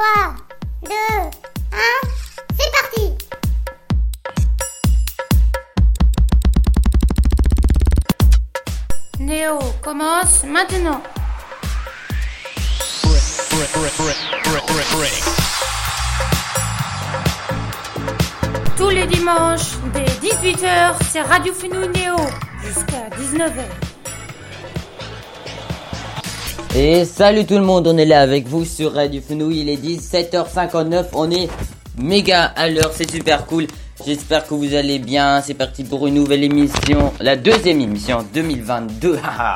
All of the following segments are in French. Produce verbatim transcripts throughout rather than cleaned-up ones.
trois, deux, un, c'est parti! Néo commence maintenant. Tous les dimanches, dès dix-huit heures, c'est Radio Fenouil Néo, jusqu'à dix-neuf heures. Et salut tout le monde, on est là avec vous sur Radio Fenouil, il est dix-sept heures cinquante-neuf, on est méga à l'heure, c'est super cool. J'espère que vous allez bien, c'est parti pour une nouvelle émission, la deuxième émission deux mille vingt-deux.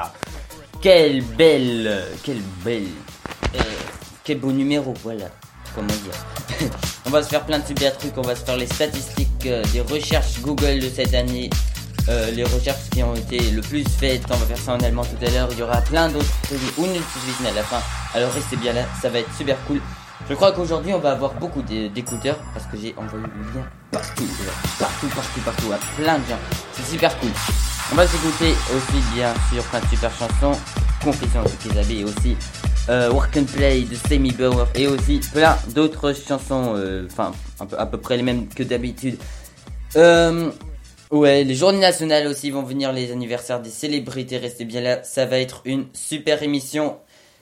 Quelle belle, quelle belle, euh, quel beau numéro, voilà, comment dire. On va se faire plein de super trucs, on va se faire les statistiques euh, des recherches Google de cette année. Euh, les recherches qui ont été le plus faites, on va faire ça en allemand tout à l'heure, il y aura plein d'autres trucs, à la fin, alors restez bien là, ça va être super cool. Je crois qu'aujourd'hui on va avoir beaucoup d'écouteurs, parce que j'ai envoyé le lien partout, partout, partout, partout, à plein de gens, c'est super cool. On va s'écouter aussi bien sûr plein de super chansons, Confession de Kézabé et aussi euh, Work and Play de Semi Bauer et aussi plein d'autres chansons, enfin euh, un peu, à peu près les mêmes que d'habitude. Euh... Ouais, les journées nationales aussi vont venir, les anniversaires des célébrités, restez bien là, ça va être une super émission.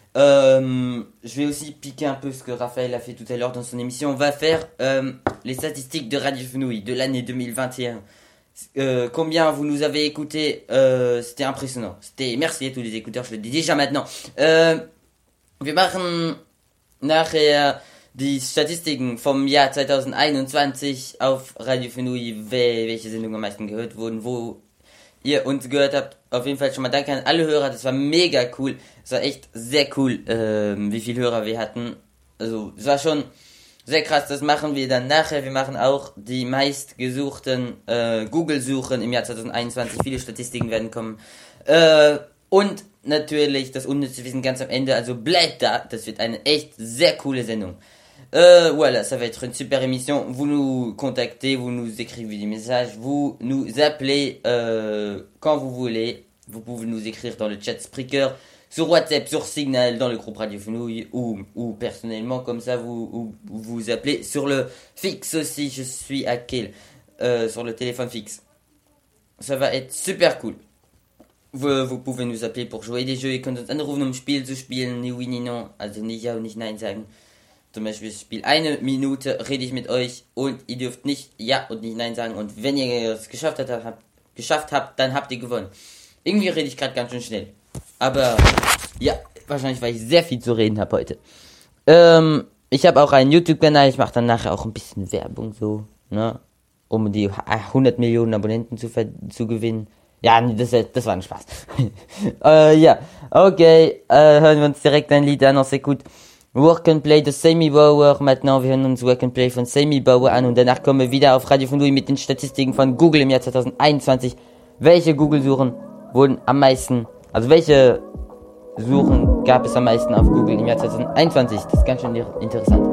Euh, je vais aussi piquer un peu ce que Raphaël a fait tout à l'heure dans son émission. On va faire euh, les statistiques de Radio Fenouil de l'année deux mille vingt et un. Euh, combien vous nous avez écouté, euh, c'était impressionnant. C'était, merci à tous les écouteurs, je le dis déjà maintenant. Euh, wir machen nachher die Statistiken vom Jahr zwanzig einundzwanzig auf Radio Fenouil, welche Sendungen am meisten gehört wurden, wo ihr uns gehört habt. Auf jeden Fall schon mal danke an alle Hörer, das war mega cool. Es war echt sehr cool, ähm, wie viele Hörer wir hatten. Also, es war schon sehr krass, das machen wir dann nachher. Wir machen auch die meistgesuchten äh, Google-Suchen im Jahr zwanzig einundzwanzig. Viele Statistiken werden kommen. Äh, und natürlich das unnütze Wissen ganz am Ende, also bleibt da, das wird eine echt sehr coole Sendung. Euh, voilà, ça va être une super émission. Vous nous contactez, vous nous écrivez des messages, vous nous appelez euh, quand vous voulez. Vous pouvez nous écrire dans le chat Spreaker, sur WhatsApp, sur Signal, dans le groupe Radio Fenouil ou, ou personnellement, comme ça vous ou, vous appelez sur le fixe aussi. Je suis à Kiel, euh, sur le téléphone fixe. Ça va être super cool. Vous, vous pouvez nous appeler pour jouer des jeux. Ihr könnt uns anrufen, um Spiel zu spielen. Ni oui, ni non. Also nicht ja und nicht nein sagen. Zum Beispiel das Spiel eine Minute rede ich mit euch und ihr dürft nicht ja und nicht nein sagen. Und wenn ihr es geschafft habt, habt, geschafft habt, dann habt ihr gewonnen. Irgendwie rede ich gerade ganz schön schnell. Aber ja, wahrscheinlich, weil ich sehr viel zu reden habe heute. Ähm, ich habe auch einen YouTube-Kanal. Ich mache dann nachher auch ein bisschen Werbung so, ne, um die hundert Millionen Abonnenten zu, zu gewinnen. Ja, das, das war ein Spaß. äh, ja, okay, äh, hören wir uns direkt ein Lied an, on s'écoute Work and Play de Semi Bauer. Maintenant, wir hören uns Work and Play von Semi Bauer an und danach kommen wir wieder auf Radio Fenouil mit den Statistiken von Google im Jahr zwanzig einundzwanzig. Welche Google-Suchen wurden am meisten, also welche Suchen gab es am meisten auf Google im Jahr zwanzig einundzwanzig? Das ist ganz schön interessant.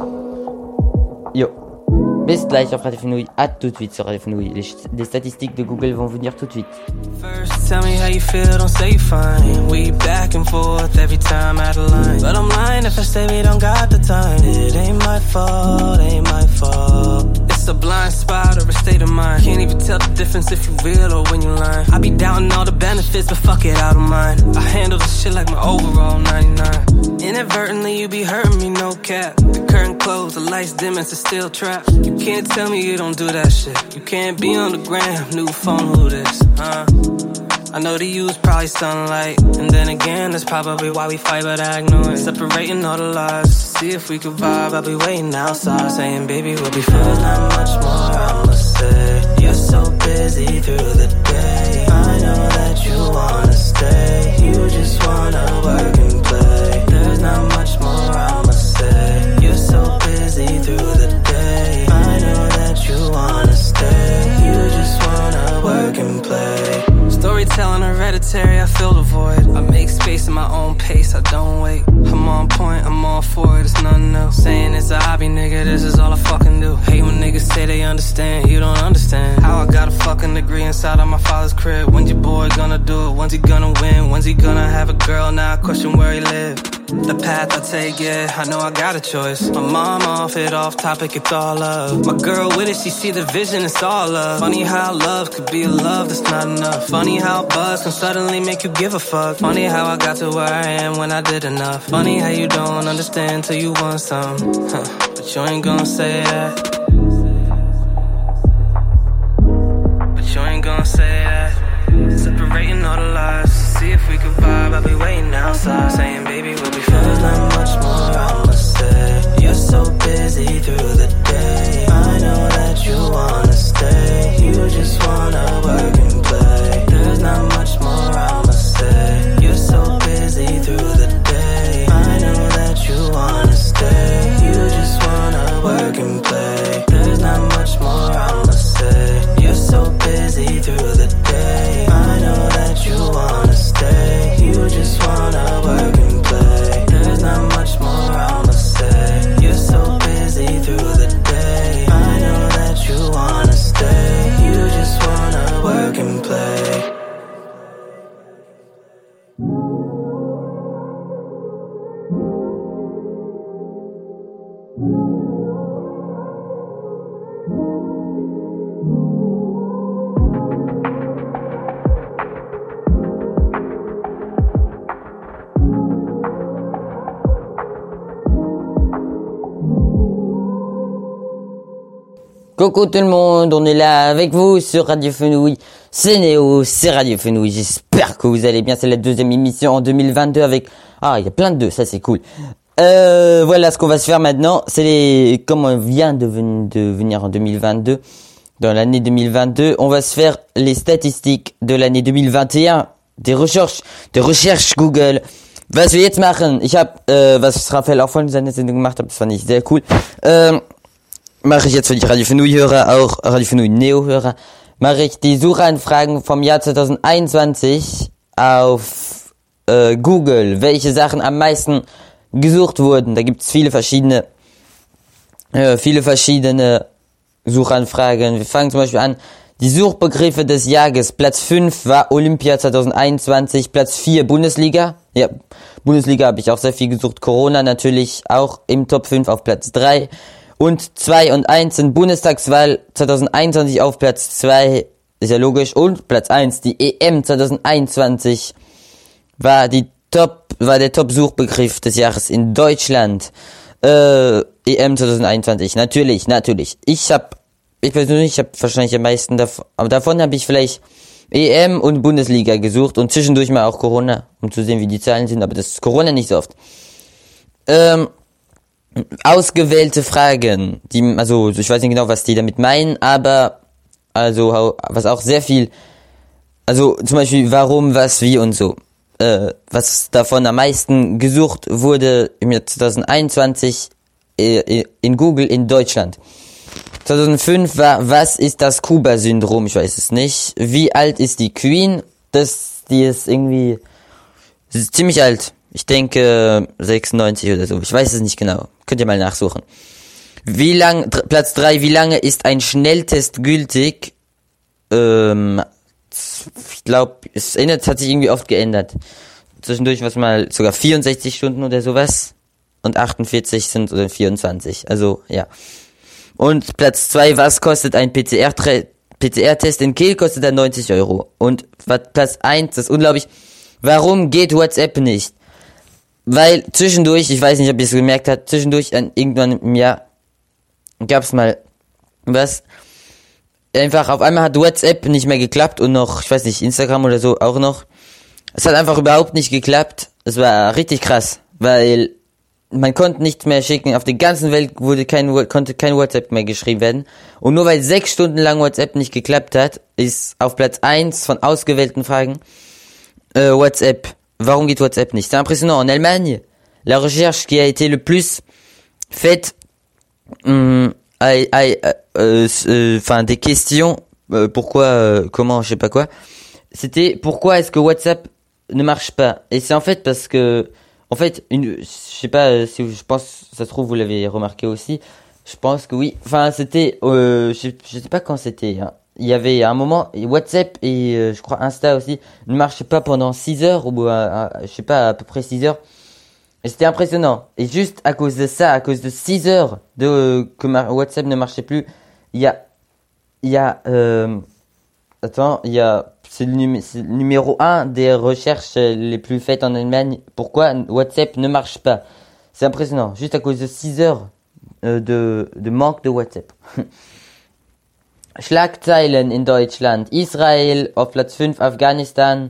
Jo. Bis gleich auf Radio Fenouil, à tout de suite sur Radio Fenouil. Les, les statistiques de Google vont venir tout de suite. First, tell me how you feel, don't say you're fine. We back and forth every time out of line. But I'm lying if I say we don't got the time. It ain't my fault, ain't my fault. It's a blind spot or a state of mind. Can't even tell the difference if you real or when you lying. I be doubting all the benefits, but fuck it, I don't mind. I handle this shit like my overall ninety-nine. Inadvertently, you be hurting me, no cap. The curtain closed, the lights dim, it's a steel trap. You can't tell me you don't do that shit. You can't be on the gram, new phone, who this, huh? I know to use probably sunlight. And then again, that's probably why we fight, but I ignore it. Separating all the lies, to see if we could vibe. I'll be waiting outside, saying, baby, we'll be fine. There's not much more I'ma say. You're so busy through the day. I know that you wanna stay. You just wanna work and play. There's not much more I'ma say. You're so busy through the day. I know that you wanna stay. You just wanna work and play. Storytelling hereditary, I fill the void. I make space in my own pace, I don't wait. I'm on point, I'm all for it, it's nothing else. Saying it's a hobby, nigga, this is all I fucking do. Hate when niggas say they understand, you don't understand. How I got a fucking degree inside of my father's crib. When's your boy gonna do it? When's he gonna win? When's he gonna have a girl? Now I question where he live. The path I take, yeah, I know I got a choice. My mom off it, off topic, it's all love. My girl with it, she see the vision, it's all love. Funny how love could be a love that's not enough. Funny how buzz can suddenly make you give a fuck. Funny how I got to where I am when I did enough. Funny how you don't understand till you want some, huh. But you ain't gonna say that. But you ain't gonna say that. Separating all the lies, see if we could vibe. I'll be waiting outside, saying baby we'll be fine. There's not much more I'ma say. You're so busy through the day. I know that you wanna stay. You just wanna work and play. There's not much more I'ma say. You're so busy through the day. I know that you wanna stay. You just wanna work and play. There's not much more I'ma say. You're so busy through the day. I know that you wanna stay. You just wanna work and play. There's not much more I'ma say. You're so busy through the day. I know that you wanna stay. You just wanna work and play. Coucou tout le monde, on est là avec vous sur Radio Fenouil, c'est Néo, c'est Radio Fenouil, j'espère que vous allez bien, c'est la deuxième émission en deux mille vingt-deux avec... Ah, il y a plein de deux, ça c'est cool. Euh, voilà ce qu'on va se faire maintenant, c'est les... Comme on vient de, ven... de venir en deux mille vingt-deux, dans l'année deux mille vingt-deux, on va se faire les statistiques de l'année deux mille vingt et un, des recherches, des recherches Google. Was wir jetzt machen, ich habe, äh, was Raphael auch von seiner Sendung gemacht hat, das fand ich sehr cool, ähm... mache ich jetzt für die Radio Fenouil-Hörer, auch Radio Fenouil-Neo-Hörer, mache ich die Suchanfragen vom Jahr zwanzig einundzwanzig auf äh, Google, welche Sachen am meisten gesucht wurden. Da gibt's viele verschiedene, äh, viele verschiedene Suchanfragen. Wir fangen zum Beispiel an, die Suchbegriffe des Jahres. Platz fünf war Olympia zwanzig einundzwanzig, Platz vier Bundesliga. Ja, Bundesliga habe ich auch sehr viel gesucht. Corona natürlich auch im Top fünf auf Platz drei. Und zwei und eins sind Bundestagswahl zwanzig einundzwanzig auf Platz zwei, ist ja logisch. Und Platz eins, die E M zwanzig einundzwanzig, war die Top, war der Top-Suchbegriff des Jahres in Deutschland. Äh, E M zwanzig einundzwanzig, natürlich, natürlich. Ich hab, ich persönlich hab wahrscheinlich am meisten davon, aber davon habe ich vielleicht E M und Bundesliga gesucht und zwischendurch mal auch Corona, um zu sehen, wie die Zahlen sind, aber das ist Corona nicht so oft. Ähm, Ausgewählte Fragen, die, also ich weiß nicht genau, was die damit meinen, aber also was auch sehr viel, also zum Beispiel warum, was, wie und so, äh, was davon am meisten gesucht wurde im Jahr zwanzig einundzwanzig äh, in Google in Deutschland. zweitausendfünf war, was ist das Kuba-Syndrom? Ich weiß es nicht. Wie alt ist die Queen? Das, die ist irgendwie, sie ist ziemlich alt. Ich denke sechsundneunzig oder so. Ich weiß es nicht genau. Könnt ihr mal nachsuchen. Wie lang, dr- Platz drei, wie lange ist ein Schnelltest gültig? Ähm, ich glaube, es ändert, hat sich irgendwie oft geändert. Zwischendurch was mal sogar vierundsechzig Stunden oder sowas. Und achtundvierzig sind oder vierundzwanzig. Also, ja. Und Platz zwei, was kostet ein P C R-Test in Kiel? Kostet er neunzig Euro. Und Platz eins, das ist unglaublich. Warum geht WhatsApp nicht? Weil zwischendurch, ich weiß nicht, ob ihr es gemerkt habt, zwischendurch an irgendwann im Jahr gab's mal was. Einfach auf einmal hat WhatsApp nicht mehr geklappt und noch, ich weiß nicht, Instagram oder so auch noch. Es hat einfach überhaupt nicht geklappt. Es war richtig krass, weil man konnte nichts mehr schicken. Auf der ganzen Welt wurde kein, konnte kein WhatsApp mehr geschrieben werden. Und nur weil sechs Stunden lang WhatsApp nicht geklappt hat, ist auf Platz eins von ausgewählten Fragen äh, WhatsApp. Warum geht WhatsApp nicht? C'est impressionnant. En Allemagne, la recherche qui a été le plus faite, hum, a, a, a, euh, euh, enfin des questions, euh, pourquoi, euh, comment, je sais pas quoi. C'était pourquoi est-ce que WhatsApp ne marche pas? Et c'est en fait parce que, en fait, une, je sais pas si je pense, ça se trouve vous l'avez remarqué aussi. Je pense que oui. Enfin, c'était, euh, je, je sais pas quand c'était. Hein. Il y avait un moment, WhatsApp et euh, je crois Insta aussi ne marchaient pas pendant six heures ou euh, je sais pas à peu près six heures. Et c'était impressionnant. Et juste à cause de ça, à cause de six heures de euh, que ma WhatsApp ne marchait plus, il y a, il y a, euh, attends, il y a, c'est le, numé- c'est le numéro un des recherches les plus faites en Allemagne. Pourquoi WhatsApp ne marche pas? C'est impressionnant. Juste à cause de six heures euh, de, de manque de WhatsApp. Schlagzeilen in Deutschland. Israel auf Platz fünf, Afghanistan.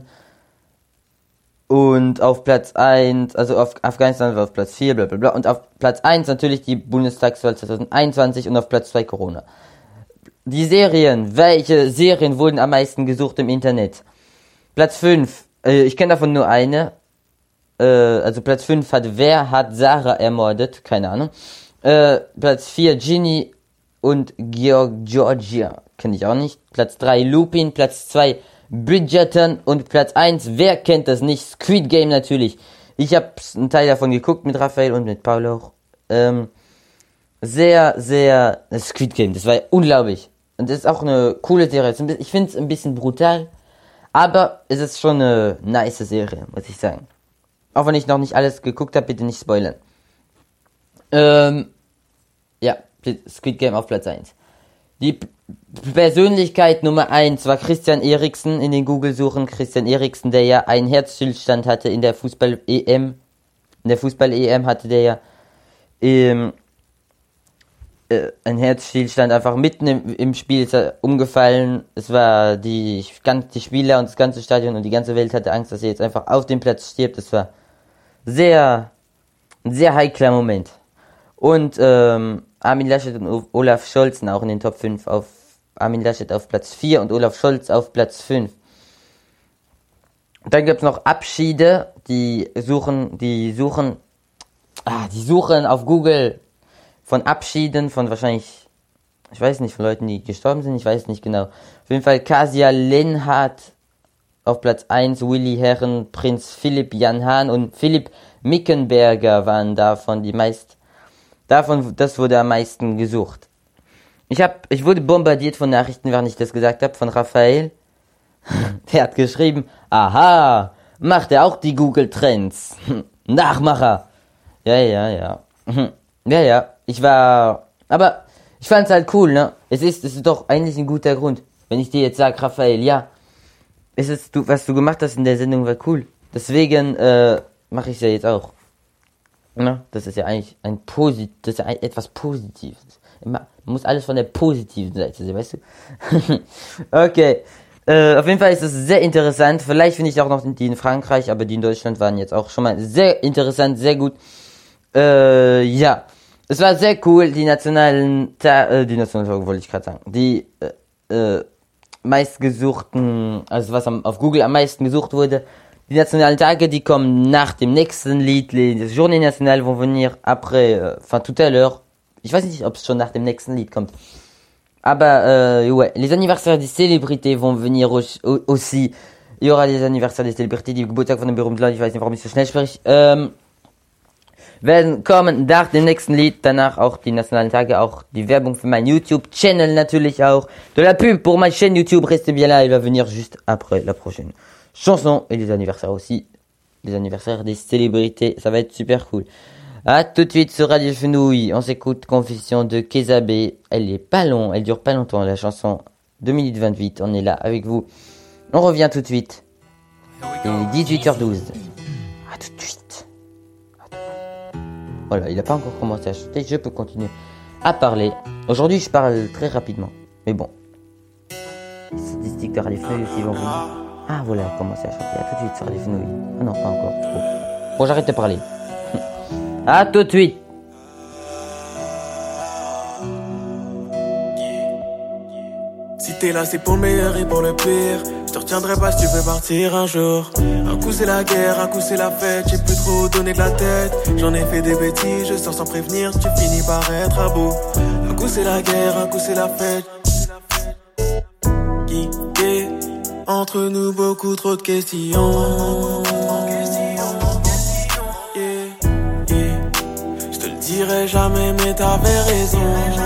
Und auf Platz eins, also auf Afghanistan war auf Platz vier, bla bla bla. Und auf Platz eins natürlich die Bundestagswahl zwanzig einundzwanzig und auf Platz zwei Corona. Die Serien, welche Serien wurden am meisten gesucht im Internet? Platz fünf, äh, ich kenne davon nur eine. Äh, also Platz fünf hat Wer hat Sarah ermordet? Keine Ahnung. Äh, Platz vier Ginny und Georg Georgia, kenne ich auch nicht. Platz drei Lupin, Platz zwei Bridgerton und Platz eins, wer kennt das nicht? Squid Game natürlich. Ich habe einen Teil davon geguckt mit Raphael und mit Paul auch. Ähm, sehr, sehr... Squid Game, das war unglaublich. Und das ist auch eine coole Serie. Ich finde es ein bisschen brutal, aber es ist schon eine nice Serie, muss ich sagen. Auch wenn ich noch nicht alles geguckt habe, bitte nicht spoilern. Ähm, ja, Squid Game auf Platz eins. Die P- Persönlichkeit Nummer eins war Christian Eriksen in den Google-Suchen. Christian Eriksen, der ja einen Herzstillstand hatte in der Fußball-E M. In der Fußball-E M hatte der ja ähm, äh, einen Herzstillstand einfach mitten im, im Spiel ist er umgefallen. Es war die, die Spieler und das ganze Stadion und die ganze Welt hatte Angst, dass er jetzt einfach auf dem Platz stirbt. Das war sehr, ein sehr heikler Moment. Und ähm, Armin Laschet und Olaf Scholz auch in den Top fünf. Auf Armin Laschet auf Platz vier und Olaf Scholz auf Platz fünf. Dann gibt's noch Abschiede, die suchen, die suchen, ah, die suchen auf Google von Abschieden von wahrscheinlich, ich weiß nicht, von Leuten, die gestorben sind, ich weiß nicht genau. Auf jeden Fall Kasia Lenhardt auf Platz eins, Willi Herren, Prinz Philipp Jan Hahn und Philipp Mickenberger waren davon die meist, davon, das wurde am meisten gesucht. Ich hab, ich wurde bombardiert von Nachrichten, während ich das gesagt habe, von Raphael. Der hat geschrieben, aha, macht er auch die Google Trends. Nachmacher. Ja, ja, ja. Ja, ja, ich war, aber ich fand's halt cool, ne? Es ist, es ist doch eigentlich ein guter Grund. Wenn ich dir jetzt sage, Raphael, ja, es ist, du, was du gemacht hast in der Sendung war cool. Deswegen, äh, mache ich es ja jetzt auch. Ne? Das ist ja eigentlich ein Posit, das ist ja ein, etwas Positives. Man muss alles von der positiven Seite sehen, weißt du? Okay. Äh, auf jeden Fall ist es sehr interessant. Vielleicht finde ich auch noch die in Frankreich, aber die in Deutschland waren jetzt auch schon mal sehr interessant, sehr gut. Äh, ja. Es war sehr cool, die nationalen, Ta- äh, die nationalen, wollte ich gerade sagen, die, äh, äh, meistgesuchten, also was am, auf Google am meisten gesucht wurde. Die nationalen Tage, die kommen nach dem nächsten Lied. Les Journées Nationales vont venir après, euh, enfin tout à l'heure. Ich weiß nicht, ob es schon nach dem nächsten Lied kommt. Aber, euh, ouais, les anniversaires des célébrités vont venir aussi. Il y aura les anniversaires des célébrités, die Geburtstag von den berühmten Leuten, ich weiß nicht, warum ich so schnell spreche, ähm, werden kommen nach dem nächsten Lied, danach auch die nationalen Tage, auch die Werbung für mein YouTube-Channel natürlich auch. De la pub pour ma chaîne YouTube, restez bien là, il va venir juste après la prochaine chanson. Et les anniversaires aussi, les anniversaires des célébrités, ça va être super cool. À tout de suite sur Radio Fenouil, on s'écoute Confession de Kézabé. Elle est pas long, elle dure pas longtemps, la chanson, deux minutes vingt-huit, on est là avec vous. On revient tout de suite. Il est dix-huit heures douze. À tout de suite. Voilà, il n'a pas encore commencé à chanter, je peux continuer à parler. Aujourd'hui, je parle très rapidement, mais bon. Les statistiques de Radio Fenouil aussi vont venir. Ah voilà, il a commencé à chanter. À tout de suite sur Radio Fenouil. Ah non, pas encore. Bon, bon j'arrête de parler. À tout de suite. Si t'es là, c'est pour le meilleur et pour le pire. Je te retiendrai pas si tu veux partir un jour. Un coup c'est la guerre, un coup c'est la fête. J'ai plus trop donné de la tête. J'en ai fait des bêtises, je sors sans prévenir. Tu finis par être à bout. Un coup c'est la guerre, un coup c'est la fête. Qui est entre nous beaucoup trop de questions. Je dirais jamais mais t'avais raison.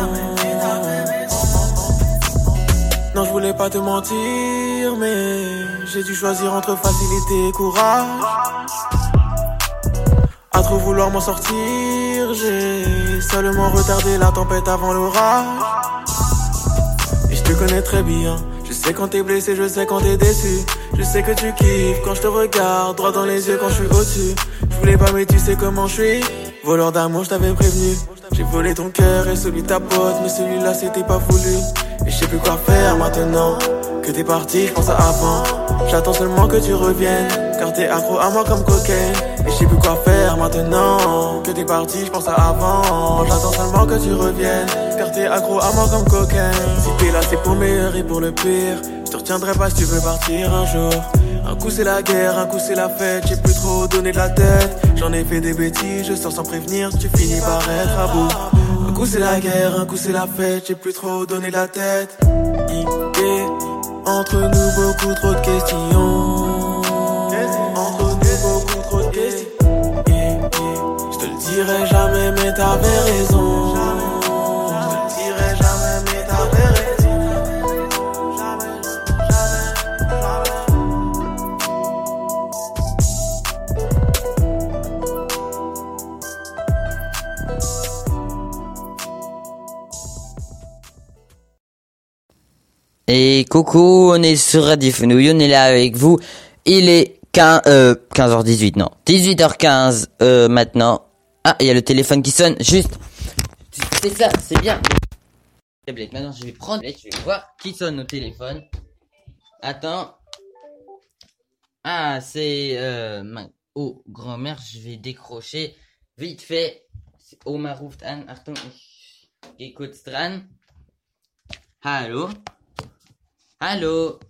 Non je voulais pas te mentir mais j'ai dû choisir entre facilité et courage. À trop vouloir m'en sortir. J'ai seulement retardé la tempête avant l'orage. Et je te connais très bien. Je sais quand t'es blessé, je sais quand t'es déçu. Je sais que tu kiffes quand je te regarde droit dans les yeux quand je suis au-dessus. Je voulais pas mais tu sais comment je suis. Voleur d'amour, je t'avais prévenu. J'ai volé ton cœur et celui de ta pote, mais celui-là c'était pas voulu. Et je sais plus quoi faire maintenant que t'es parti, je pense à avant. J'attends seulement que tu reviennes, car t'es accro à moi comme cocaine. Et je sais plus quoi faire maintenant que t'es parti, je pense à avant. J'attends seulement que tu reviennes, car t'es accro à moi comme cocaine. Si t'es là c'est pour le meilleur et pour le pire. Je te retiendrai pas si tu veux partir un jour. Un coup c'est la guerre, un coup c'est la fête. J'ai plus trop donné de la tête. J'en ai fait des bêtises, je sors sans prévenir. Tu finis par être à bout. Un coup c'est la guerre, un coup c'est la fête. J'ai plus trop donné de la tête. Et entre nous beaucoup trop de questions. Entre nous beaucoup trop de questions. Je te le dirai jamais mais t'avais raison. Je te le dirai jamais mais t'avais raison. Et coucou, on est sur Radio Fenouille, on est là avec vous. Il est quinze, euh, quinze heures dix-huit, non, dix-huit heures quinze euh, maintenant. Ah, il y a le téléphone qui sonne, juste. C'est ça, c'est bien. Tablette. Maintenant, je vais prendre, je vais voir qui sonne au téléphone. Attends. Ah, c'est euh, ma... oh, grand-mère, je vais décrocher vite fait. Oma ruft an. Achtung, ich geh kurz dran. Hallo? Hallo?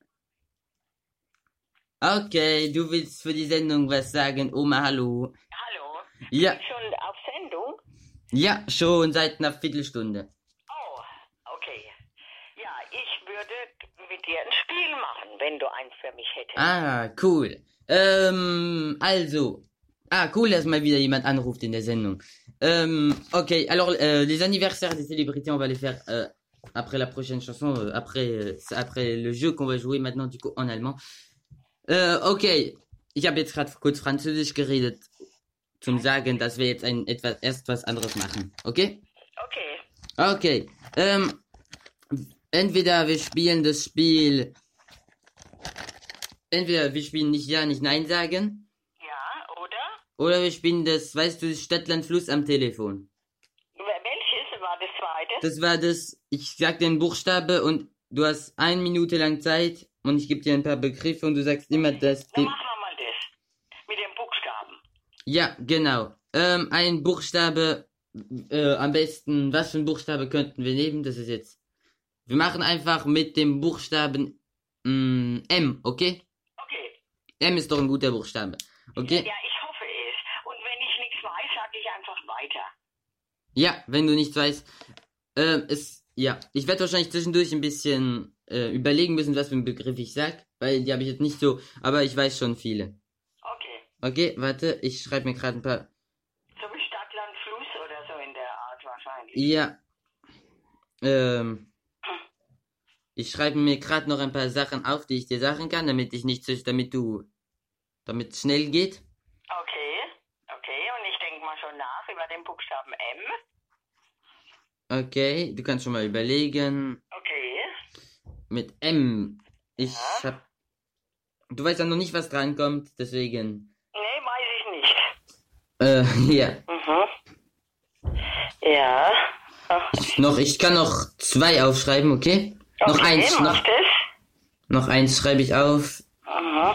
Okay, du willst für die Sendung was sagen, Oma, hallo? Hallo? Ja. Sind schon auf Sendung? Ja, schon seit einer Viertelstunde. Oh, okay. Ja, ich würde mit dir ein Spiel machen, wenn du eins für mich hättest. Ah, cool. Ähm, also. Ah, cool, dass mal wieder jemand anruft in der Sendung. Ähm, okay, alors, euh, les anniversaires des célébrités, on va les faire euh, après la prochaine chanson, euh, après, euh, après le jeu qu'on va jouer maintenant, du coup, en allemand. Äh, okay, ich habe jetzt gerade kurz Französisch geredet, zum Sagen, dass wir jetzt ein etwas erst was anderes machen, okay? Okay. Okay, ähm, entweder wir spielen das Spiel, entweder wir spielen nicht Ja, nicht Nein sagen, Ja, oder? oder wir spielen das, weißt du, das Stadtland Fluss am Telefon. Welches war das zweite? Das war das, ich sag dir einen Buchstabe und du hast eine Minute lang Zeit und ich gebe dir ein paar Begriffe und du sagst immer das. Dann machen wir mal das. Mit den Buchstaben. Ja, genau. Ähm, ein Buchstabe, äh, am besten, was für ein Buchstabe könnten wir nehmen? Das ist jetzt, wir machen einfach mit dem Buchstaben mh, M, okay? Okay. M ist doch ein guter Buchstabe, okay? Ja, ich hoffe es. Und wenn ich nichts weiß, sage ich einfach weiter. Ja, wenn du nichts weißt. Ähm, es, ja, ich werde wahrscheinlich zwischendurch ein bisschen äh, überlegen müssen, was für einen Begriff ich sag, weil die habe ich jetzt nicht so, aber ich weiß schon viele. Okay. Okay, warte, ich schreibe mir gerade ein paar. So wie Stadt, Land, Fluss oder so in der Art wahrscheinlich. Ja. Ähm. Ich schreibe mir gerade noch ein paar Sachen auf, die ich dir sagen kann, damit ich nicht, damit du, damit es schnell geht. Okay. Okay, und ich denke mal schon nach über den Buchstaben M. Okay, du kannst schon mal überlegen. Okay. Mit M. Ich Ja. hab. Du weißt ja noch nicht, was drankommt, deswegen. Nee, weiß ich nicht. Äh, ja. Mhm. Ja. Ach, Noch, ich kann noch zwei aufschreiben, okay? Noch okay, eins, mach noch, das. noch eins schreibe ich auf. Mhm.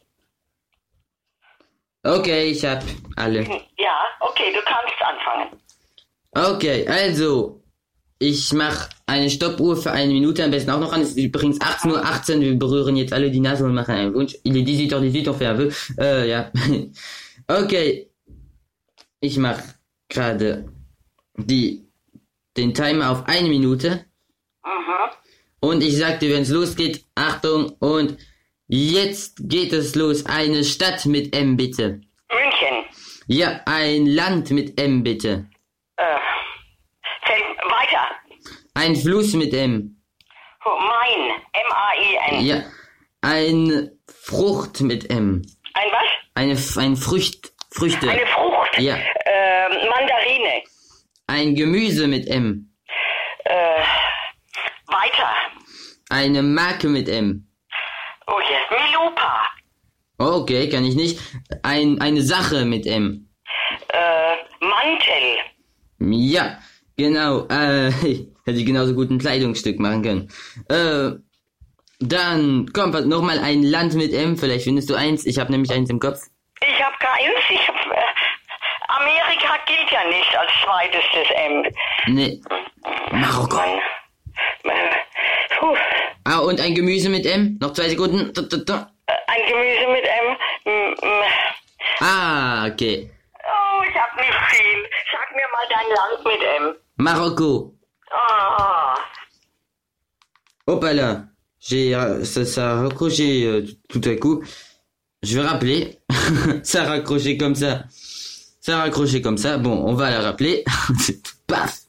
Okay, ich hab alle. Ja, okay, du kannst anfangen. Okay, also, ich mach eine Stoppuhr für eine Minute, am besten auch noch an. Es ist übrigens achtzehn Uhr achtzehn, wir berühren jetzt alle die Nase und machen einen Wunsch. Il est dix-huit heures dix-huit, on fait un vœu. Äh, ja. Okay. Ich mach gerade die, den Timer auf eine Minute. Mhm. Und ich sag dir, wenn es losgeht, Achtung, und jetzt geht es los. Eine Stadt mit M, bitte. München. Ja, ein Land mit M, bitte. Äh, fällt weiter. Ein Fluss mit M. Oh, Main. M A I N. Ja, eine Frucht mit M. Ein was? Eine, F- ein Frücht, Früchte. Eine Frucht. Ja. Äh, Mandarine. Ein Gemüse mit M. Äh, weiter. Eine Marke mit M. Oh ja, Milupa. Okay, kann ich nicht. Ein, eine Sache mit M. Äh, Mantel. Ja, genau. Äh, hätte ich genauso gut ein Kleidungsstück machen können. Äh, dann kommt nochmal ein Land mit M. Vielleicht findest du eins. Ich habe nämlich eins im Kopf. Ich habe keins. Ich hab, äh, Amerika gilt ja nicht als zweites des M. Nee. Marokko. Mann. Puh. Ah, und ein Gemüse mit M. Noch zwei Sekunden. Da, da, da. Ein Gemüse mit M. M, M. Ah, okay. Oh, ich hab nicht viel. Sag mir mal dein Land mit M. Marocco. Ah. Hopala. J'ai, euh, ça, ça a raccroché euh, tout à coup. Je vais rappeler. Ça a raccroché comme ça. Ça a raccroché comme ça. Bon, on va la rappeler. Paf.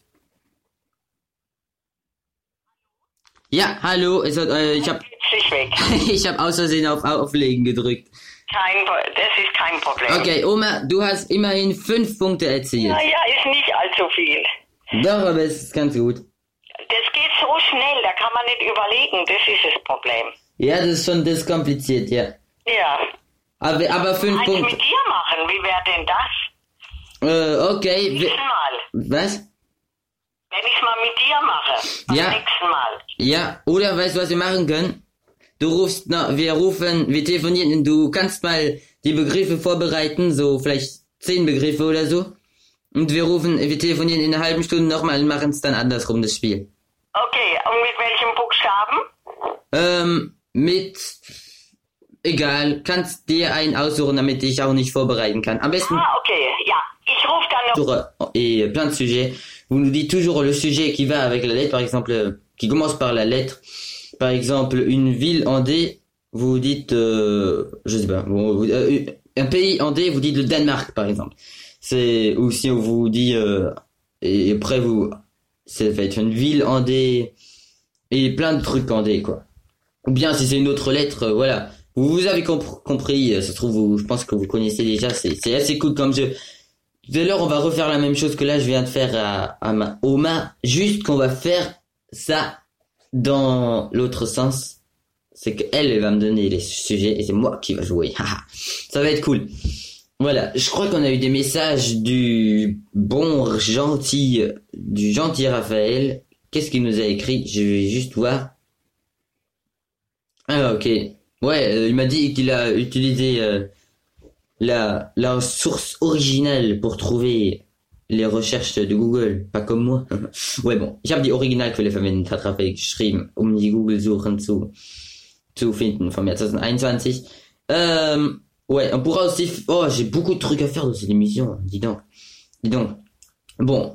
Ja, hallo. Es hat, äh, ich hab, Sich weg. ich hab aus Versehen auf Auflegen gedrückt. Kein, das ist kein Problem. Okay, Oma, du hast immerhin fünf Punkte erzielt. Naja, ist nicht allzu viel. Doch, aber es ist ganz gut. Das geht so schnell, da kann man nicht überlegen. Das ist das Problem. Ja, das ist schon, das ist kompliziert, ja. Ja. Aber, aber fünf Eins Punkte. mit dir machen, wie wäre denn das? Äh, okay. Nächsten Mal. Was? Wenn ich mal mit dir mache. Beim Ja. nächsten Mal. Ja, oder weißt du, was wir machen können? Du rufst, na, wir rufen, wir telefonieren, du kannst mal die Begriffe vorbereiten, so vielleicht zehn Begriffe oder so. Und wir rufen, wir telefonieren in einer halben Stunde nochmal und machen es dann andersrum, das Spiel. Okay, und mit welchem Buchstaben? Ähm, mit, egal, kannst dir einen aussuchen, damit ich auch nicht vorbereiten kann. Am besten, Ah, okay, ja. Ich rufe dann noch. et plein de sujets. Vous nous dites toujours le sujet qui va avec la lettre, par exemple, euh, qui commence par la lettre. Par exemple, une ville en D, vous dites, euh, je sais pas, bon, vous- euh, un pays en D, vous dites le Danemark, par exemple. C'est, ou si on vous dit, euh, et après vous, ça va être une ville en D, et plein de trucs en D, quoi. Ou bien si c'est une autre lettre, euh, voilà. Vous, vous avez compr- compris, euh, ça se trouve, vous, je pense que vous connaissez déjà, c'est, c'est assez cool comme jeu. Tout à l'heure, on va refaire la même chose que là, je viens de faire à, à ma Oma, juste qu'on va faire ça dans l'autre sens. C'est qu'elle, elle va me donner les sujets et c'est moi qui va jouer. Haha. Ça va être cool. Voilà, je crois qu'on a eu des messages du bon gentil, du gentil Raphaël. Qu'est-ce qu'il nous a écrit? Je vais juste voir. Ah, ok. Ouais, euh, il m'a dit qu'il a utilisé euh, la, la source originale pour trouver les recherches de Google, pas comme moi. Ouais, bon, ich habe die Originalquelle verwendet, hat Raphael geschrieben, um die Google-Suchen zu, zu finden vom Jahr zwanzig einundzwanzig. Ähm, ouais, on pourra aussi... f- Oh, j'ai beaucoup de trucs à faire dans cette émission, dis donc. Dis donc. Bon.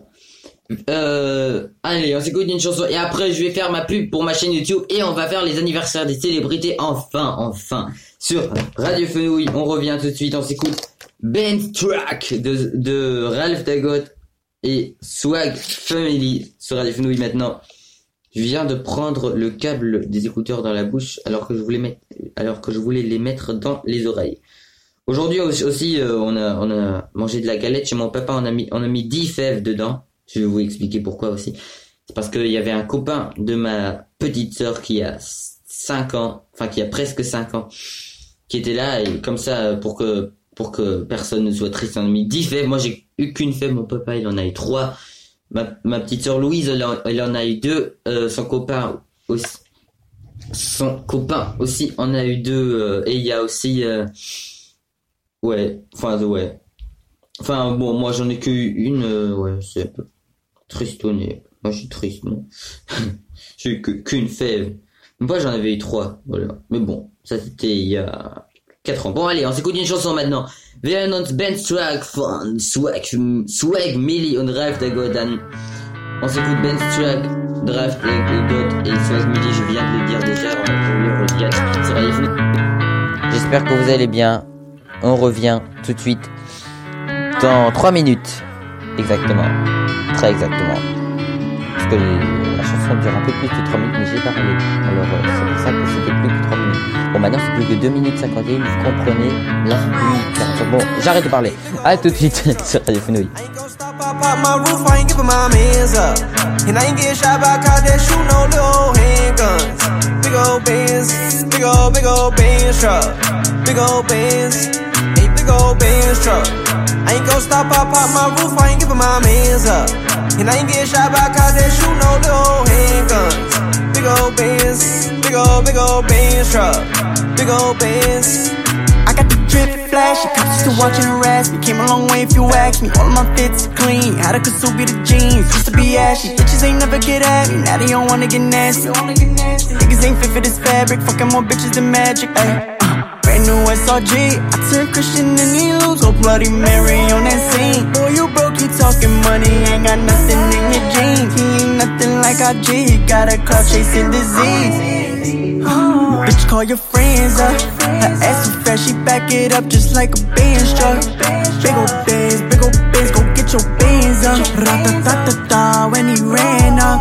Euh, allez, on s'écoute une chanson et après je vais faire ma pub pour ma chaîne YouTube et on va faire les anniversaires des célébrités enfin, enfin. Sur Radio Fenouil, on revient tout de suite, on s'écoute Ben's Track de, de Ralph Dagot et Swag Family sur Radio Fenouil maintenant. Je viens de prendre le câble des écouteurs dans la bouche alors que je voulais mettre, alors que je voulais les mettre dans les oreilles. Aujourd'hui aussi, euh, on a, on a mangé de la galette chez mon papa, on a mis, on a mis dix fèves dedans. Je vais vous expliquer pourquoi aussi. C'est parce qu'il y avait un copain de ma petite sœur qui a cinq ans, enfin qui a presque cinq ans, qui était là et comme ça, pour que, pour que personne ne soit triste, on a mis dix fèves. Moi, j'ai eu qu'une fève, mon papa, il en a eu trois. Ma, ma petite sœur Louise, elle en, elle en a eu deux. Euh, son copain aussi, son copain aussi en a eu deux. Euh, et il y a aussi, euh, ouais, enfin, ouais. Enfin, bon, moi, j'en ai qu'une, euh, ouais, c'est un peu tristonné. Moi, je suis triste, non? J'ai eu que, qu'une fève. Moi, j'en avais eu trois, voilà. Mais bon, ça, c'était il y a quatre ans. Bon, allez, on s'écoute une chanson maintenant. Wir hören uns Ben's Track von Swag, Swag Millie und Ralph Dagot an. On s'écoute Ben's Track de Ralph Dagot et Swag Millie, je viens de le dire déjà, je le redis sur Radio Fenouil. J'espère que vous allez bien. On revient tout de suite dans trois minutes. Exactement. Très exactement. Parce que la chanson dure un peu plus que trois minutes, mais j'ai parlé. Alors, euh, c'est pour ça que c'était plus que trois minutes. Bon, maintenant c'est plus que deux minutes cinquante et un, vous comprenez la communication. Bon, j'arrête de parler. À tout de suite sur Radio Fenouil. And I ain't get shot by cops that shoot no little handguns. Big ol' Benz, big ol' big ol' Benz truck. Big ol' Benz, a big ol' Benz truck. I ain't gon' stop, I pop my roof, I ain't giving my mans up. And I ain't get shot by cops that shoot no little handguns. Big ol' Benz, big ol' big ol' Benz truck. Big ol' Benz. I got the drip flash, the cops still watching harass me. Came a long way if you ask me, all of my fits clean. Had a Kasubi the jeans, used to be ashy. Bitches ain't never get at me, now they don't wanna get nasty. Niggas ain't fit for this fabric, fucking more bitches than magic. Ay, uh, brand new S R G, I turned Christian and he lose. Go Bloody Mary on that scene. Boy, you broke, you talking money, ain't got nothing in your jeans. He ain't nothing like I G, he got a clout chasing disease. Oh, bitch, call your friends up. Her ass is fat, she back it up just like a Benz truck. Big ol' Benz, big ol' Benz, go get your Benz up. Ra-ta-ta-ta-ta when he ran up.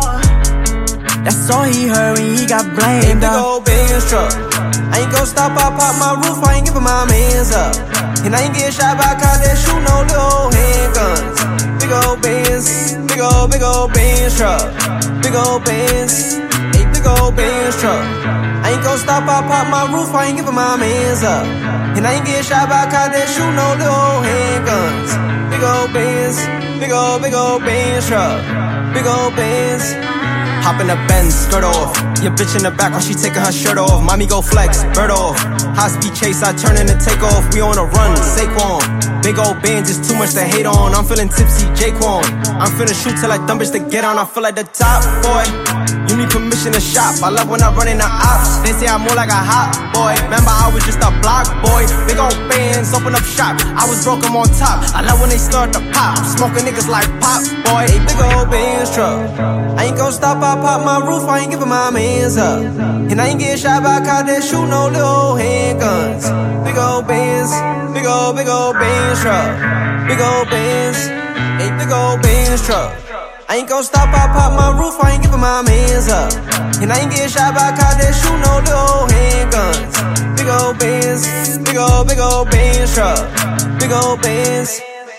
That's all he heard when he got blamed up. Big ol' Benz truck. I ain't gon' stop, I pop my roof, I ain't giving my mans up. And I ain't get shot by cops that shoot no little handguns. Big ol' Benz, big ol' big ol' Benz truck. Big ol' Benz, a big ol' Benz truck. I ain't gon' stop, I pop my roof, I ain't giving my mans up. And I ain't get shot by cops that shoot no little handguns. Big ol' Benz, big ol' big ol' Benz truck. Big ol' Benz. Hop in the Benz, skirt off. Your bitch in the back while she taking her shirt off. Mommy go flex, bird off. High speed chase, I turn in the take off. We on a run, Saquon. Big old band, just too much to hate on. I'm feeling tipsy, Jaquan. I'm finna shoot till I dumb bitch to get on. I feel like the top boy. You need permission to shop. I love when I run in the ops. They say I'm more like a hot boy. Remember I was just a block boy. Big old bands, open up shop. I was broke, I'm on top. I love when they start to pop. Smoking niggas like pop boy. A big old bands truck. I ain't gon' stop, I pop my roof, I ain't giving my mans up. And I ain't get shot by cops that shoot no little handguns. Big old bands, big old, big old bands truck. Big old bands, a big old bands truck. I ain't gon' stop, I pop my roof, I ain't giving my mans up. And I ain't get shot by cops that shoot no little handguns. Big old bands, big old, big old bands truck. Big old bands.